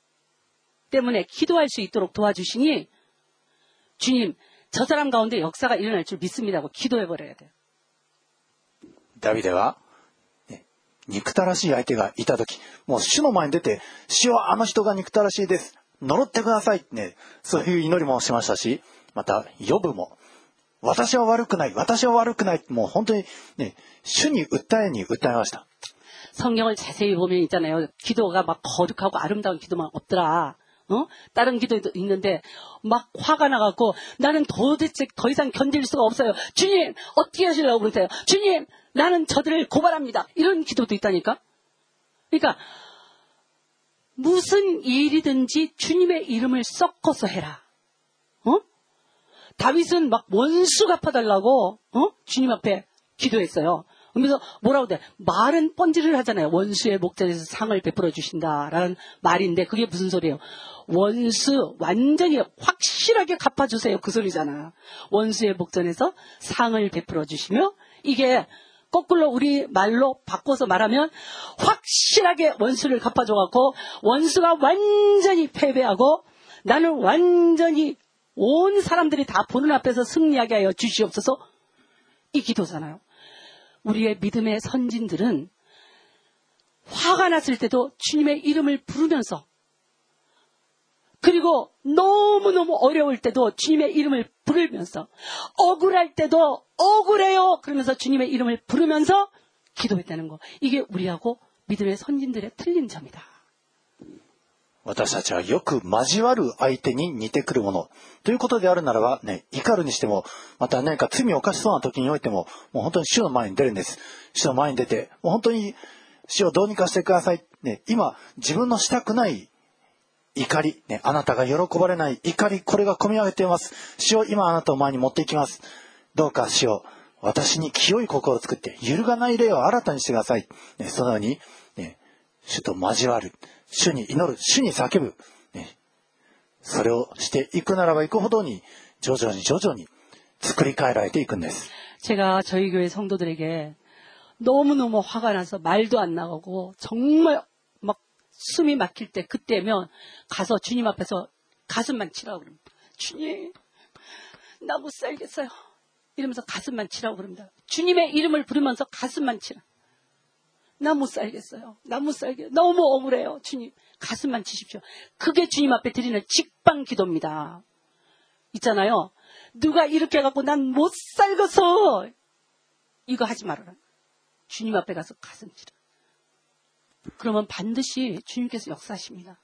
때문에 기도할 수 있도록 도와주시니 주님, 저 사람 가운데 역사가 일어날 줄 믿습니다고 기도해버려야 돼요. ダビデは、ね、憎たらしい相手がいたとき、もう主の前に出て、主はあの人が憎たらしいです。呪ってくださいってね、そういう祈りもしましたし、また、ヨブも、私は悪くない、私は悪くない、もう本当にね、主に訴えに訴えました。 성경을 자세히 보면 있잖아요. 기도가 막 거룩하고 아름다운 기도만 없더라. 어? 다른 기도도 있는데 막 화가 나갖고 나는 도대체 더 이상 견딜 수가 없어요. 주님 어떻게 하시려고 그러세요? 주님 나는 저들을 고발합니다. 이런 기도도 있다니까. 그러니까 무슨 일이든지 주님의 이름을 섞어서 해라. 어? 다윗은 막 원수 갚아달라고 어? 주님 앞에 기도했어요. 그러면서 뭐라고 돼? 말은 뻔질을 하잖아요. 원수의 목전에서 상을 베풀어 주신다라는 말인데 그게 무슨 소리예요? 원수 완전히 확실하게 갚아주세요. 그 소리잖아. 원수의 목전에서 상을 베풀어 주시며 이게 거꾸로 우리 말로 바꿔서 말하면 확실하게 원수를 갚아줘갖고 원수가 완전히 패배하고 나는 완전히 온 사람들이 다 보는 앞에서 승리하게 하여 주시옵소서. 이 기도잖아요. 우리의 믿음의 선진들은 화가 났을 때도 주님의 이름을 부르면서, 그리고 너무너무 어려울 때도 주님의 이름을 부르면서, 억울할 때도 억울해요 그러면서 주님의 이름을 부르면서 기도했다는 거. 이게 우리하고 믿음의 선진들의 틀린 점이다. 私たちはよく交わる相手に似てくるものということであるならばね、怒るにしても、また何か罪を犯しそうな時においても、もう本当に主の前に出るんです。主の前に出て、もう本当に主をどうにかしてください。ね、今自分のしたくない怒り、ね、あなたが喜ばれない怒り、これが込み上げています。主を今あなたを前に持っていきます。どうか主を私に清い心を作って揺るがない霊を新たにしてください。ね、そのように、ね、主と交わる。主に祈る、主に叫ぶ、ね、それをしていくならばいくほどに徐々に徐々に作り変えられていくんです。 제가 저희 교회 성도들에게 너무너무 화가 나서 말도 안 나가고 정말 막 숨이 막힐 때 그때면 가서 주님 앞에서 가슴만 치라고 그럽니다. 주님, 나 못 살겠어요. 이러면서 가슴만 치라고 그럽니다. 주님의 이름을 부르면서 가슴만 치라. 나 못 살겠어요. 나 못 살겠어요. 너무 억울해요. 주님, 가슴만 치십시오. 그게 주님 앞에 드리는 직방 기도입니다. 있잖아요. 누가 이렇게 해갖고 난 못 살겠어. 이거 하지 말아라. 주님 앞에 가서 가슴 치라. 그러면 반드시 주님께서 역사하십니다.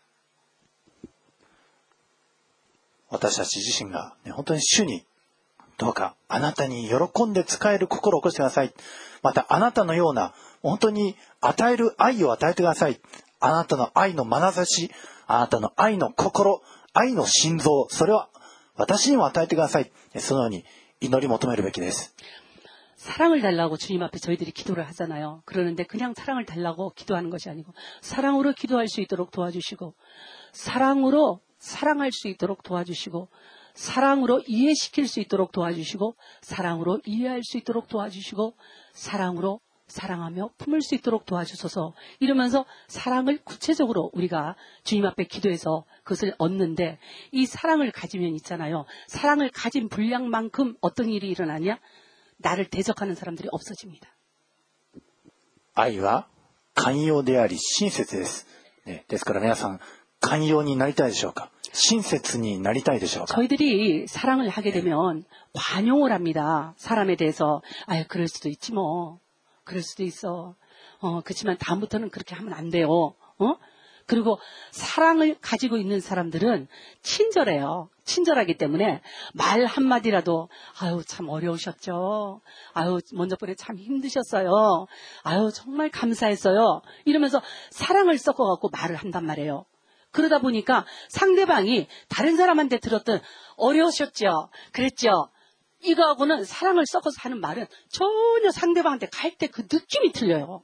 私たち自身が、ね、本当に主にどうかあなたに喜んで仕える心を起こしてください。またあなたのような本当に与える愛を与えてください。あなたの愛の眼差し、あなたの愛の心、愛の心臓、それは私にも与えてください。そのように祈り求めるべきです。 사랑을 달라고 주님 앞에 저희들이 기도를 하잖아요. 그러는데 그냥 사랑을 달라고 기도하는 것이 아니고 사랑으로 기도할 수 있도록 도와주시고 사랑으로 사랑할 수 있도록 도와주시고 사랑으로 이해시킬 수 있도록 도와주시고 사랑으로 이해할 수 있도록 도와주시고 사랑으로 사랑하며 품을 수 있도록 도와주소서. 이러면서 사랑을 구체적으로 우리가 주님 앞에 기도해서 그것을 얻는데 이 사랑을 가지면 있잖아요. 사랑을 가진 분량만큼 어떤 일이 일어나냐? 나를 대적하는 사람들이 없어집니다. 愛は寛容であり親切です。ね、ですから皆さん寛容になりたいでしょうか。親切になりたいでしょうか。 저희들이 사랑을 하게 되면 관용을 합니다. 사람에 대해서 아유 그럴 수도 있지 뭐. 그럴 수도 있어. 어, 그렇지만 다음부터는 그렇게 하면 안 돼요. 어? 그리고 사랑을 가지고 있는 사람들은 친절해요. 친절하기 때문에 말 한마디라도 아유 참 어려우셨죠. 아유 먼저 번에 참 힘드셨어요. 아유 정말 감사했어요. 이러면서 사랑을 섞어갖고 말을 한단 말이에요. 그러다 보니까 상대방이 다른 사람한테 들었던 어려우셨죠. 그랬죠. 이거하고는 사랑을 섞어서 하는 말은 전혀 상대방한테 갈 때 그 느낌이 틀려요.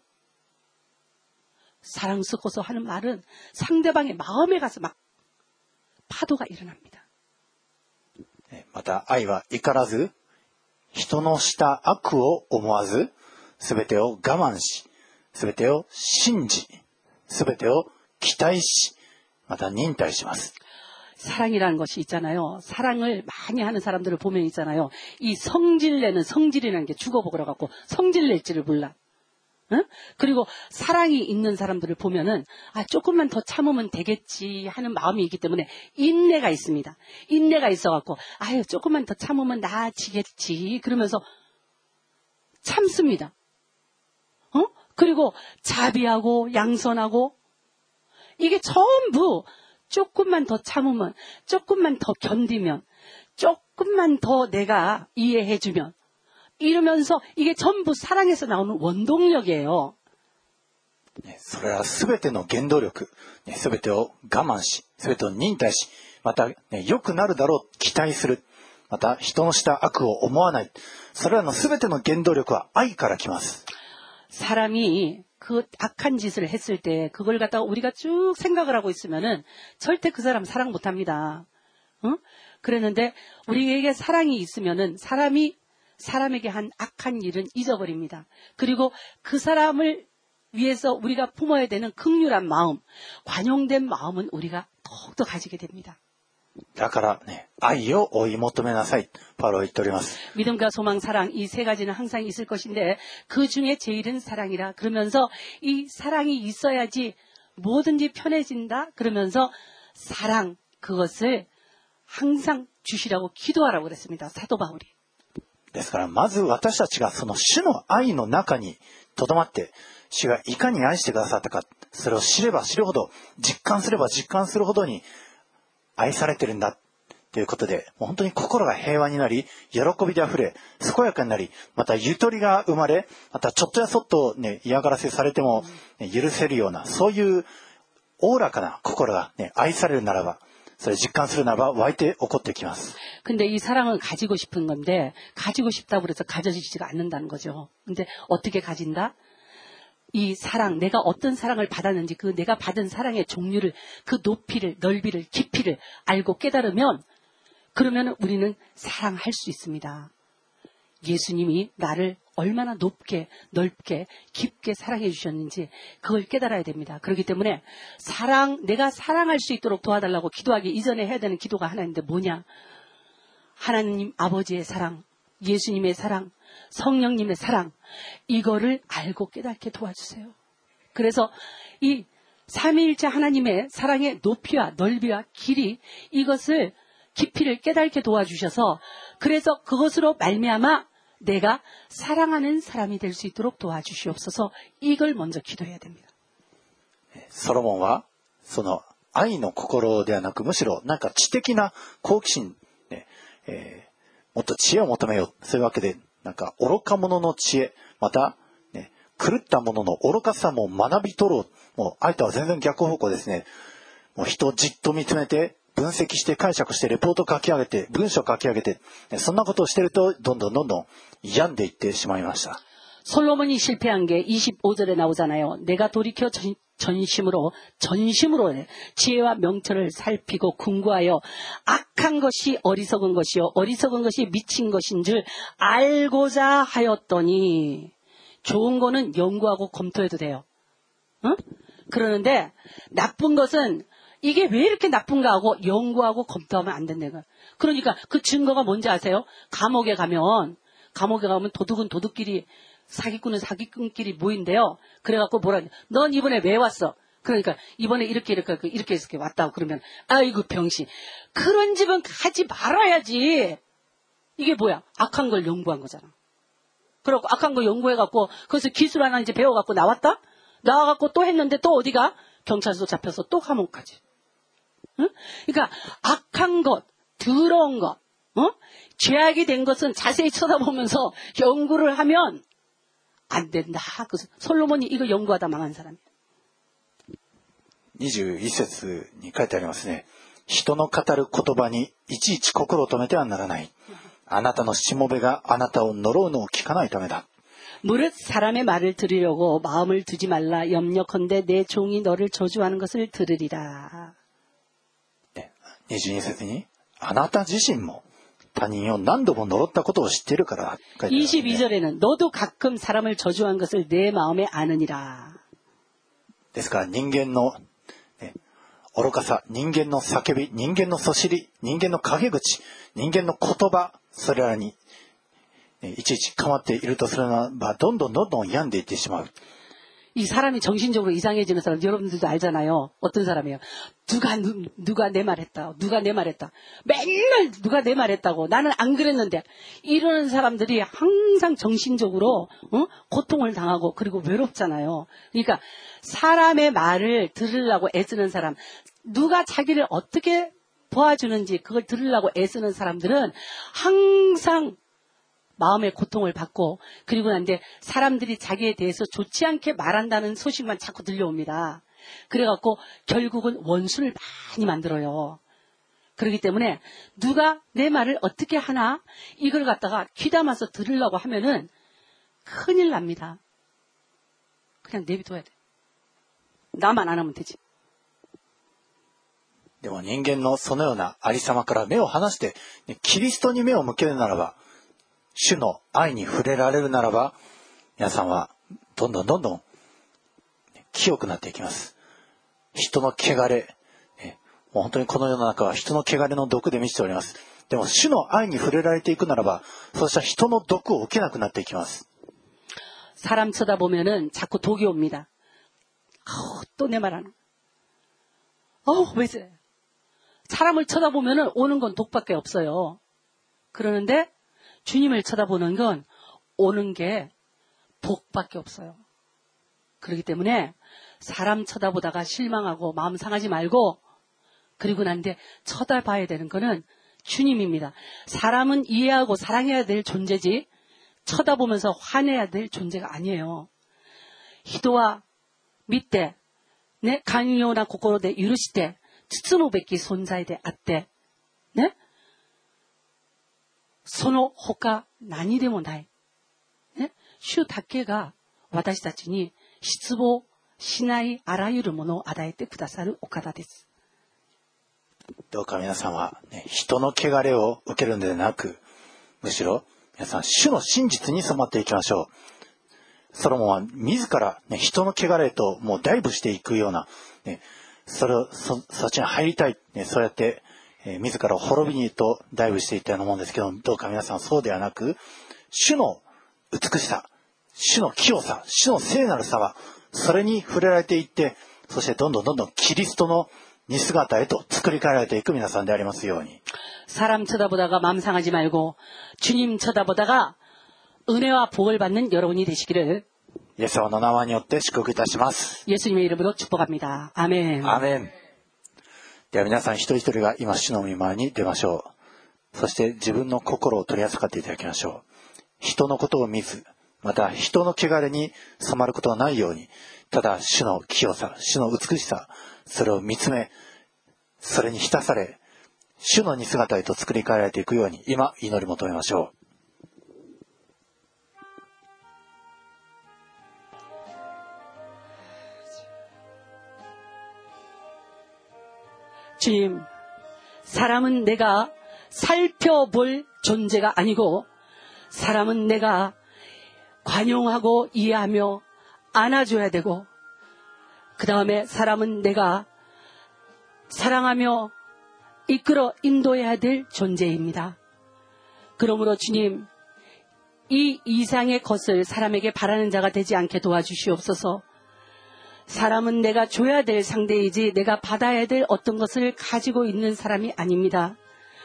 사랑 섞어서 하는 말은 상대방의 마음에 가서 막 파도가 일어납니다. また愛は怒らず、人のした悪を思わず、すべてを我慢し、すべてを信じ、すべてを期待し、また忍耐します。 사랑이라는 것이 있잖아요. 사랑을 많이 하는 사람들을 보면 있잖아요. 이 성질내는 성질이라는 게 죽어버려 갖고 성질낼지를 몰라. 응? 그리고 사랑이 있는 사람들을 보면은 아 조금만 더 참으면 되겠지 하는 마음이 있기 때문에 인내가 있습니다. 인내가 있어갖고 아유 조금만 더 참으면 나아지겠지 그러면서 참습니다. 어? 그리고 자비하고 양선하고 이게 전부 조금만 더 참으면 조금만 더 견디면 조금만 더 내가 이해해주면 이러면서 이게 전부 사랑에서 나오는 원동력이에요. それはすべての原動力、すべてを我慢し、すべてを忍耐し、また良くなるだろう期待する、また人のした悪を思わない。それらのすべての原動力は愛から来ます。 사람이 그 악한 짓을 했을 때 그걸 갖다가 우리가 쭉 생각을 하고 있으면은 절대 그 사람 사랑 못 합니다. 어? 그랬는데 우리에게 사랑이 있으면은 사람이 사람에게 한 악한 일은 잊어버립니다. 그리고 그 사람을 위해서 우리가 품어야 되는 긍휼한 마음, 관용된 마음은 우리가 더욱더 가지게 됩니다. だからね、愛を追い求めなさい。パウロは言っております。 믿음과 소망, 사랑 이 세 가지는 항상 있을 것인데 그 중에 제일은 사랑이라. 그러면서 이 사랑이 있어야지 뭐든지 편해진다. 그러면서 사랑 그것을 항상 주시라고 기도하라고 그랬습니다. 사도 바울이. ですから、まず私たちがその主の愛の中に留まって、主がいかに愛してくださったか、それを知れば知るほど、実感すれば実感するほどに愛されてるんだということで、もう本当に心が平和になり、喜びであふれ、健やかになり、またゆとりが生まれ、またちょっとやそっと、ね、嫌がらせされても、ね、許せるような、そういうおおらかな心が、ね、愛されるならば、それ実感するならば湧いて起こってきます。 근데 이 사랑을 가지고 싶은 건데 가지고 싶다고 그래서 가져지지가 않는다는 거죠. 근데 어떻게 가진다? 이 사랑, 내가 어떤 사랑을 받았는지 그 내가 받은 사랑의 종류를, 그 높이를, 넓이를, 깊이를 알고 깨달으면 그러면 우리는 사랑할 수 있습니다. 예수님이 나를 얼마나 높게, 넓게, 깊게 사랑해 주셨는지 그걸 깨달아야 됩니다. 그렇기 때문에 사랑, 내가 사랑할 수 있도록 도와달라고 기도하기 이전에 해야 되는 기도가 하나 있는데 뭐냐? 하나님 아버지의 사랑, 예수님의 사랑, 성령님의 사랑, 이거를 알고 깨닫게 도와주세요. 그래서 이 삼위일체 하나님의 사랑의 높이와 넓이와 길이, 이것을 깊이를 깨닫게 도와주셔서 그래서 그것으로 말미암아 내가 사랑하는 사람이 될 수 있도록 도와주시옵소서. 이걸 먼저 기도해야 됩니다. ソロモンはその愛の心ではなく、むしろなんか知的な好奇心、ねえー、もっと知恵を求めよう、そういうわけでなんか愚か者の知恵、また、ね、狂った者の愚かさも学び取ろう。もう愛とは全然逆方向ですね。もう人をじっと見つめて分析して解釈してレポート書き上げて文章書き上げて、そんなことをしてるとどんどんどんどん病んでいってしまいました。 솔로몬이 실패한 게 이십오 절에 나오잖아요. 내가 돌이켜 전, 전심으로 전심으로 지혜와 명철을 살피고 궁구하여 악한 것이 어리석은 것이요 어리석은 것이 미친 것인 줄 알고자 하였더니, 좋은 거는 연구하고 검토해도 돼요. 응? 그러는데 나쁜 것은 이게 왜 이렇게 나쁜가 하고 연구하고 검토하면 안 된다는 거예요. 그러니까 그 증거가 뭔지 아세요? 감옥에 가면 감옥에 가면 도둑은 도둑끼리, 사기꾼은 사기꾼끼리 모인대요. 그래갖고 뭐라, 넌 이번에 왜 왔어? 그러니까 이번에 이렇게 이렇게 이렇게 이렇게 왔다고 그러면, 아이고 병신, 그런 집은 가지 말아야지. 이게 뭐야? 악한 걸 연구한 거잖아. 그래갖고 악한 거 연구해갖고 그래서 기술 하나 이제 배워갖고 나왔다? 나와갖고 또 했는데 또 어디가? 경찰서 잡혀서 또 감옥 가지. 응? 그러니까 악한 것, 더러운 것, 어? 죄악이 된 것은 자세히 쳐다보면서 연구를 하면 안 된다. 그래서 솔로몬이 이거 연구하다 망한 사람이에요. にじゅういち節に書いてありますね。人の語る言葉にいちいち心を止めてはならない。あなたのしもべがあなたを呪うのを聞かないためだ。 무릇 사람의 말을 들으려고 마음을 두지 말라. 염려컨대 내 종이 너를 저주하는 것을 들으리라. にじゅうに節にあなた自身も他人を何度も呪ったことを知っているから。 이십이 절에는 너도 가끔 사람을 저주한 것을 내 마음에 아느니라. ですから人間の、ね、愚かさ、人間の叫び、人間のそしり、人間の陰口、人間の言葉、それらにいちいち構っているとするならばどんどんどんどん病んでいってしまう。 이 사람이 정신적으로 이상해지는 사람 여러분들도 알잖아요. 어떤 사람이에요? 누가 누, 누가 내 말했다. 누가 내 말했다. 맨날 누가 내 말했다고. 나는 안 그랬는데. 이러는 사람들이 항상 정신적으로 어? 고통을 당하고 그리고 외롭잖아요. 그러니까 사람의 말을 들으려고 애쓰는 사람, 누가 자기를 어떻게 도와주는지 그걸 들으려고 애쓰는 사람들은 항상 마음의 고통을 받고, 그리고 난데 사람들이 자기에 대해서 좋지 않게 말한다는 소식만 자꾸 들려옵니다. 그래갖고 결국은 원수를 많이 만들어요. 그렇기 때문에 누가 내 말을 어떻게 하나 이걸 갖다가 귀담아서 들으려고 하면은 큰일 납니다. 그냥 내비둬야 돼. 나만 안 하면 되지. でも人間のそのようなありさまから目を離してキリストに目を向けるならば主の愛に触れられるならば、皆さんはどんどんどんどん清くなっていきます。人の汚れ、もう本当にこの世の中は人の汚れの毒で満ちております。でも主の愛に触れられていくならば、そうした人の毒を受けなくなっていきます。 사람 쳐다보면은 자꾸 독이 옵니다. 아우, 또 내 말 하나. 어우, 왜 그래? 사람을 쳐다보면은 오는 건 독밖에 없어요. 그러는데 주님을 쳐다보는 건 오는 게 복밖에 없어요. 그렇기 때문에 사람 쳐다보다가 실망하고 마음 상하지 말고, 그리고 난데 쳐다봐야 되는 거는 주님입니다. 사람은 이해하고 사랑해야 될 존재지 쳐다보면서 화내야 될 존재가 아니에요. 히도와 밑대, 네, 강요나 고코로데 유르시대, 츠츠노베키 손자이데 아떼, 네? 소노 호카 나니데모 나이, 네? 슈 다케가 私たちに失望しないあらゆるものを与えてくださるお方です。 どうか皆さんは、ね、人の汚れを受けるのではなく、むしろ皆さん主の真実に染まっていきましょう。ソロモンは自ら、ね、人の汚れともうダイブしていくような、ね、それを そ, そっちに入りたい、ね、そうやって、えー、自ら滅びにとダイブしていったようなもんですけど、どうか皆さんそうではなく、主の美しさ、主の清さ、主の聖なるさは、それに触れられていって、そしてどんどんどんどんキリストの似姿へと作り変えられていく皆さんでありますように。 사람 쳐다보다가 마음 상하지 말고 주님 쳐다보다가 은혜와 복을 받는 여러분이 되시기를 イエス様の名前によって祝福いたします。 예수님의 이름으로 축복합니다. 아멘. アーメン。では皆さん一人一人が今主の御前に出ましょう。そして自分の心を取り扱っていただきましょう。人のことを見ず、また人の汚れに染まることはないように、ただ主の清さ、主の美しさ、それを見つめ、それに浸され、主の似姿へと作り変えられていくように、今祈り求めましょう。 주님, 사람은 내가 살펴볼 존재가 아니고 사람은 내가 관용하고 이해하며 안아줘야 되고, 그 다음에 사람은 내가 사랑하며 이끌어 인도해야 될 존재입니다. 그러므로 주님, 이 이상의 것을 사람에게 바라는 자가 되지 않게 도와주시옵소서. 사람은 내가 줘야 될 상대이지 내가 받아야 될 어떤 것을 가지고 있는 사람이 아닙니다.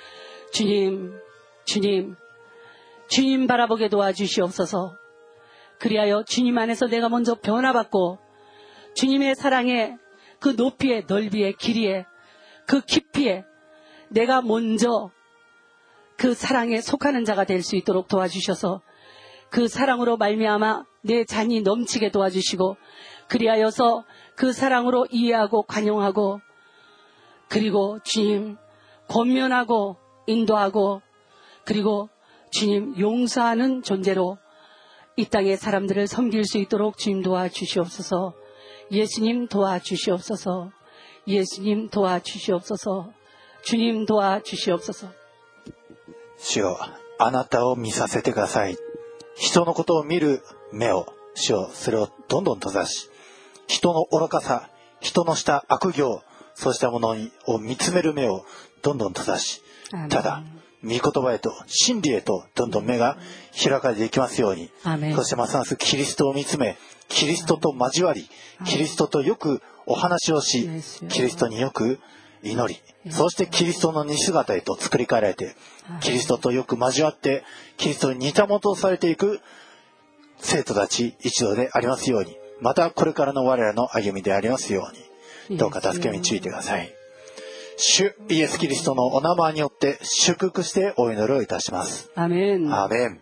주님, 주님, 주님 바라보게 도와주시옵소서. 그리하여 주님 안에서 내가 먼저 변화받고 주님의 사랑의 그 높이에, 넓이에, 길이에, 그 깊이에 내가 먼저 그 사랑에 속하는 자가 될 수 있도록 도와주셔서 그 사랑으로 말미암아 내 잔이 넘치게 도와주시고, 그리하여서 그 사랑으로 이해하고 관용하고, 그리고 주님 권면하고 인도하고, 그리고 주님 용서하는 존재로 이 땅의 사람들을 섬길 수 있도록 주님 도와주시옵소서. 예수님 도와주시옵소서. 예수님 도와주시옵소서. 주님 도와주시옵소서. 主よ、あなたを見させてください。人のことを見る目を、主よ、それをどんどん閉ざし、人の愚かさ、人のした悪行、そうしたものを見つめる目をどんどん閉ざし、ただ御言葉へと真理へとどんどん目が開かれていきますように、そしてますますキリストを見つめ、キリストと交わり、キリストとよくお話をし、キリストによく祈り、そしてキリストの似姿へと作り変えられて、キリストとよく交わってキリストに似たもとされていく生徒たち一同でありますように、またこれからの我らの歩みでありますように、どうか助け導いてください。主イエスキリストのお名前によって祝福してお祈りをいたします。 アメン。 アーメン。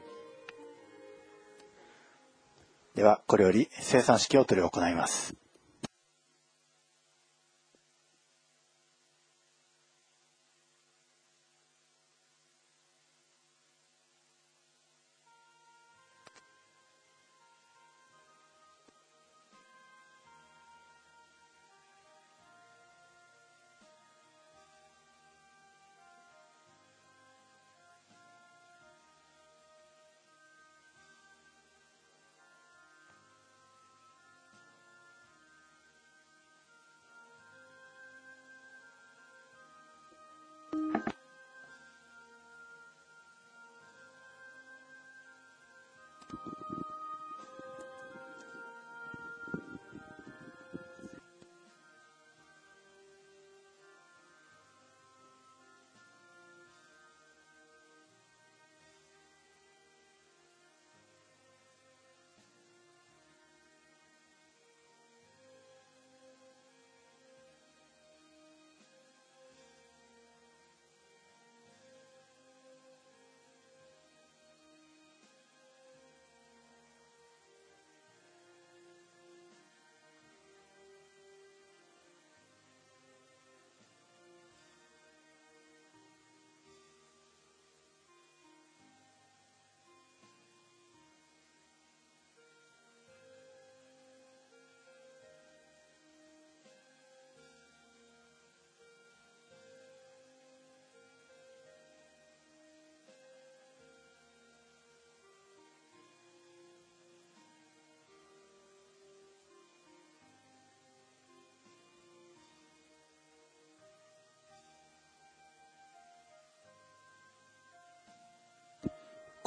ではこれより聖餐式を執り行います。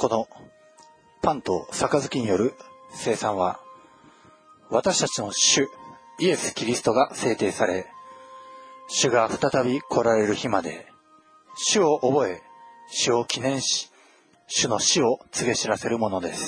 このパンと杯による聖餐は、私たちの主イエス・キリストが制定され、主が再び来られる日まで、主を覚え、主を記念し、主の死を告げ知らせるものです。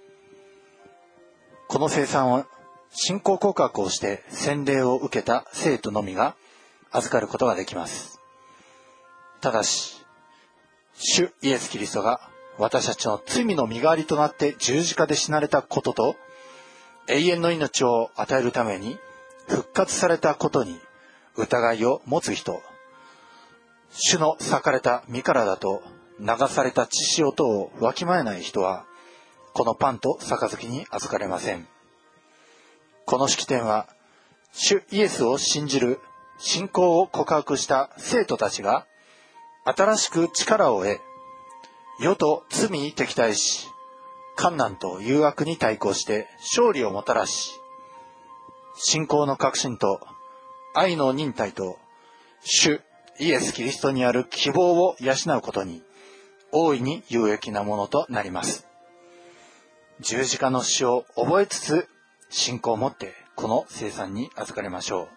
この聖餐は、信仰告白をして洗礼を受けた生徒のみが預かることができます。ただし、主イエス・キリストが私たちの罪の身代わりとなって十字架で死なれたことと、永遠の命を与えるために復活されたことに疑いを持つ人、主の裂かれた身体と流された血潮とをわきまえない人は、このパンと杯に預かれません。この式典は、主イエスを信じる信仰を告白した生徒たちが、新しく力を得、世と罪に敵対し、困難と誘惑に対抗して勝利をもたらし、信仰の確信と愛の忍耐と主イエス・キリストにある希望を養うことに大いに有益なものとなります。十字架の死を覚えつつ信仰を持ってこの聖餐に預かりましょう。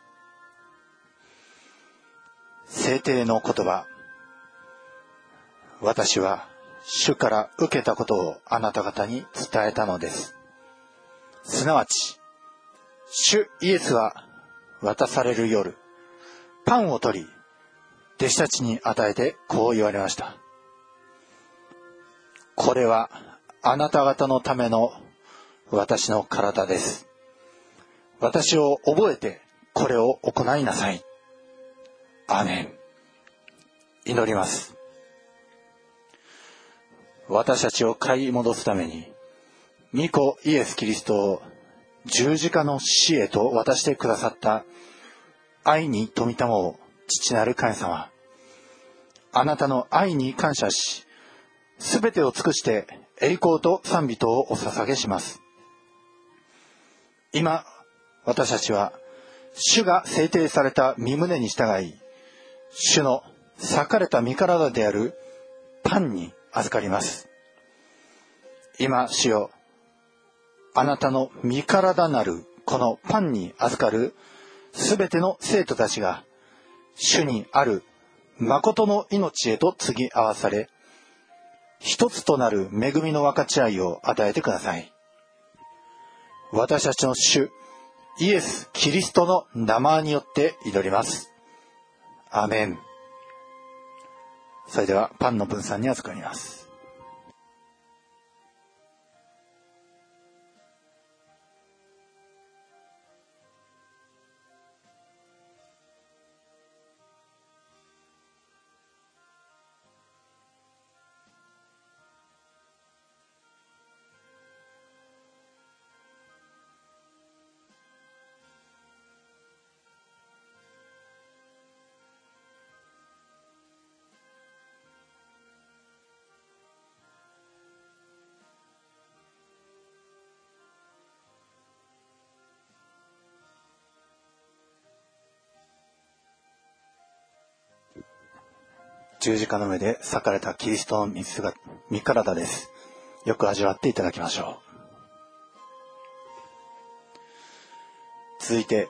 聖帝の言葉。私は主から受けたことをあなた方に伝えたのです。すなわち、主イエスは渡される夜、パンを取り、弟子たちに与えてこう言われました。これはあなた方のための私の体です。私を覚えてこれを行いなさい。アーメン。祈ります。私たちを買い戻すために、御子イエス・キリストを十字架の死へと渡してくださった愛に富みたまを父なる神様、あなたの愛に感謝し、すべてを尽くして栄光と賛美とをお捧げします。今、私たちは主が制定された御胸に従い、主の裂かれた身体であるパンに預かります。今、主よ、あなたの身体なるこのパンに預かるすべての生徒たちが、主にある誠の命へと継ぎ合わされ、一つとなる恵みの分かち合いを与えてください。私たちの主、イエス・キリストの名前によって祈ります。アーメン。それではパンの分散に預かります。十字架の上で裂かれたキリストの身姿、身体です。よく味わっていただきましょう。続いて、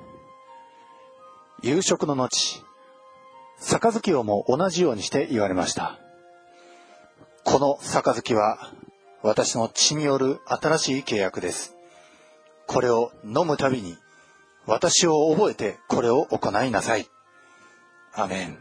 夕食の後、杯をも同じようにして言われました。この杯は私の血による新しい契約です。これを飲むたびに私を覚えてこれを行いなさい。アーメン。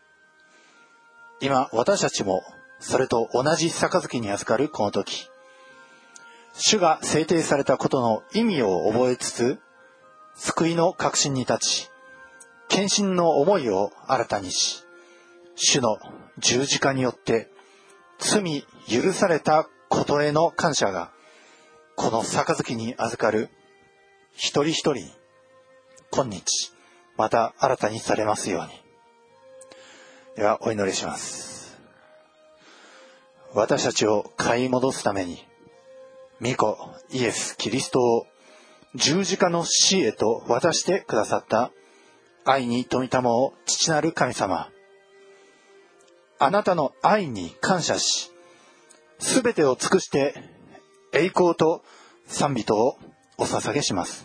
今私たちもそれと同じ杯に預かるこの時、主が制定されたことの意味を覚えつつ、救いの確信に立ち、献身の思いを新たにし、主の十字架によって罪許されたことへの感謝がこの杯に預かる一人一人に今日また新たにされますように。ではお祈りします。私たちを買い戻すために御子イエス・キリストを十字架の死へと渡してくださった愛に富みたまを父なる神様、あなたの愛に感謝し、 すべてを尽くして栄光と賛美とをお捧げします。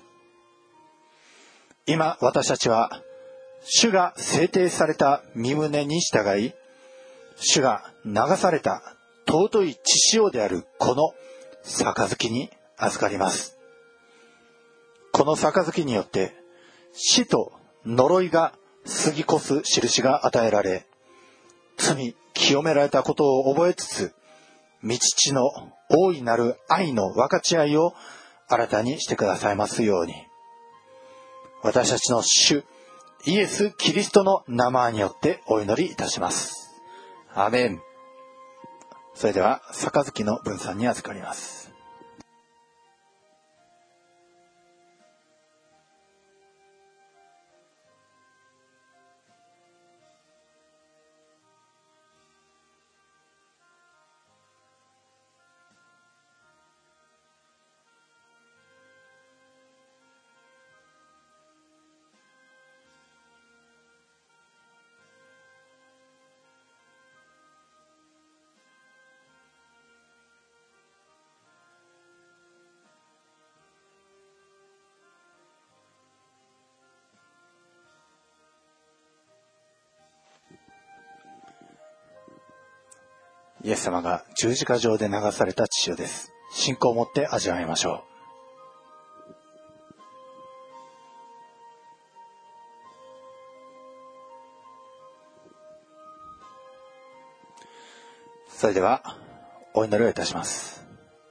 今私たちは主が制定された身旨に従い、主が流された尊い血潮であるこの杯に預かります。この杯によって死と呪いが過ぎ越す印が与えられ、罪清められたことを覚えつつ、御父の大いなる愛の分かち合いを新たにしてくださいますように。私たちの主イエス・キリストの名前によってお祈りいたします。アーメン。それでは杯の分散に預かります。イエス様が十字架上で流された血潮です。信仰を持って味わいましょう。それではお祈りをいたします。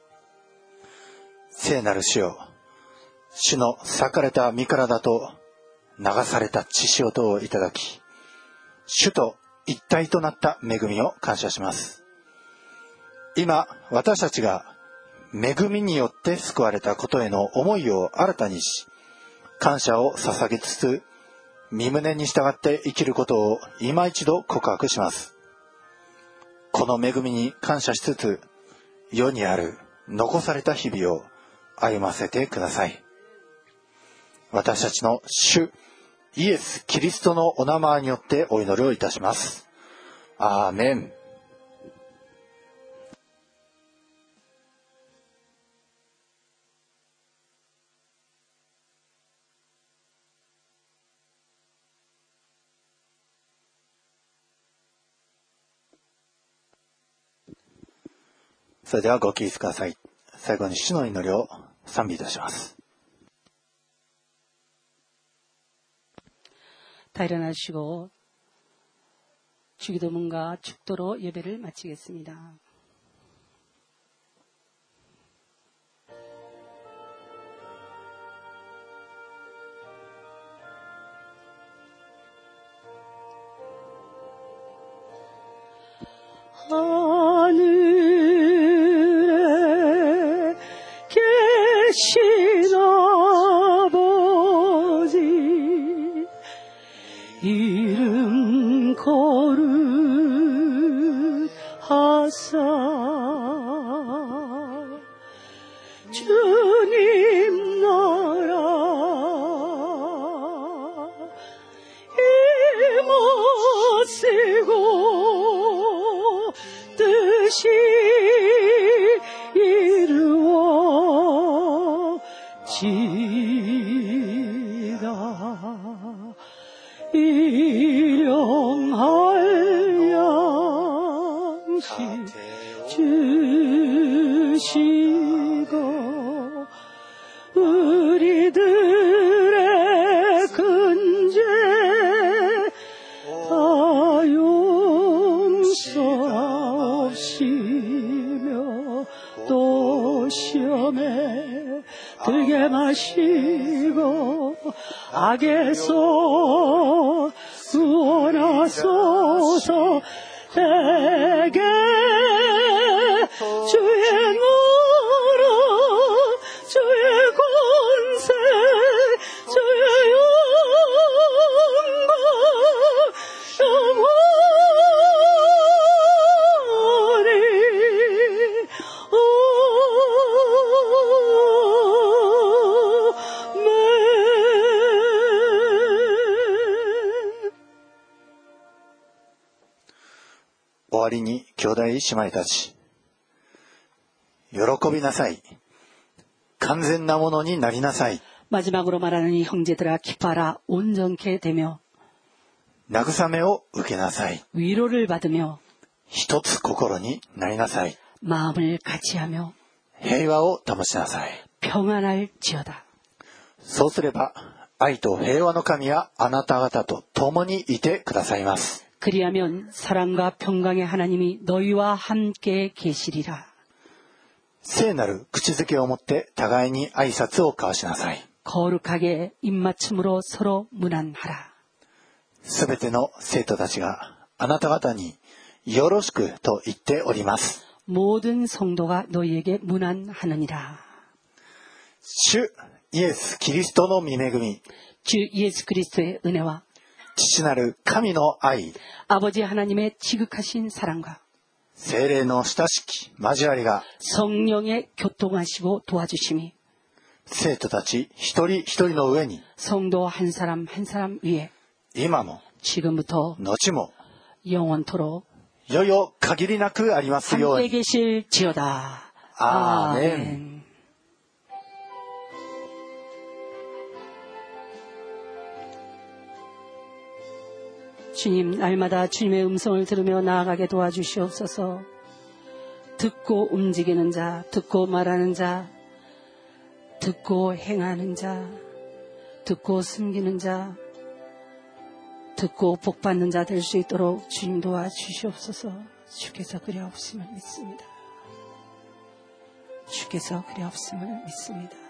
聖なる主よ、主の裂かれた身体と流された血潮とをいただき、主と一体となった恵みを感謝します。今私たちが恵みによって救われたことへの思いを新たにし、感謝を捧げつつ身旨に従って生きることを今一度告白します。この恵みに感謝しつつ、世にある残された日々を歩ませてください。私たちの主イエス・キリストのお名前によってお祈りをいたします。アーメン。それではご起立ください。最後に主の祈りを賛美いたします。 다 일어나시고 주기도문과 축도로 예배를 마치겠습니다. 하늘에 계신 아버지, 이름 거룩하사 주님 나라 임하시고 뜻이 이루어지다. 일용할 양식 주시고 우리들의 근죄 다 용서하시며 또 시험에 들게 마시고 악에서 구원하소서. 내게 주의 나라 주의 권세 주의 영광 영원히 終わりに兄弟姉妹たち、 喜びなさい。完全なものになりなさい。 마지막으로 말하는 형제들아 기뻐하라 온전케 되며 慰めを受けなさい。 위로를 받으며 一つ心になりなさい。 마음을 같이하며 平和を保ちなさい。 평안할지어다. そうすれば愛と平和の神はあなた方と共にいてくださいます。 그리하면 사랑과 평강의 하나님이 너희와 함께 계시리라. 聖なる口づけをもって互いに挨拶を交わしなさい。 거룩하게 입맞춤으로 서로 문안하라. すべての生徒たちがあなた方によろしくと言っております。 모든 성도가 너희에게 문안하느니라. 主イエス・キリストの御恵み、 주 예수 그리스도의 은혜와 父なる神の愛、 아버지 하나님의 지극하신 사랑과 聖霊の親しき交わりが 성령의 교통하시고 도와주심이 生徒たち一人一人の上に 성도 한 사람 한 사람 위에 今も 지금부터 後も 영원토록 よよ限りなくありますよう 함께 に。 계실지어다. 아멘. 주님, 날마다 주님의 음성을 들으며 나아가게 도와주시옵소서. 듣고 움직이는 자, 듣고 말하는 자, 듣고 행하는 자, 듣고 숨기는 자, 듣고 복받는 자 될 수 있도록 주님 도와주시옵소서. 주께서 그리하옵음을 믿습니다. 주께서 그리하옵음을 믿습니다.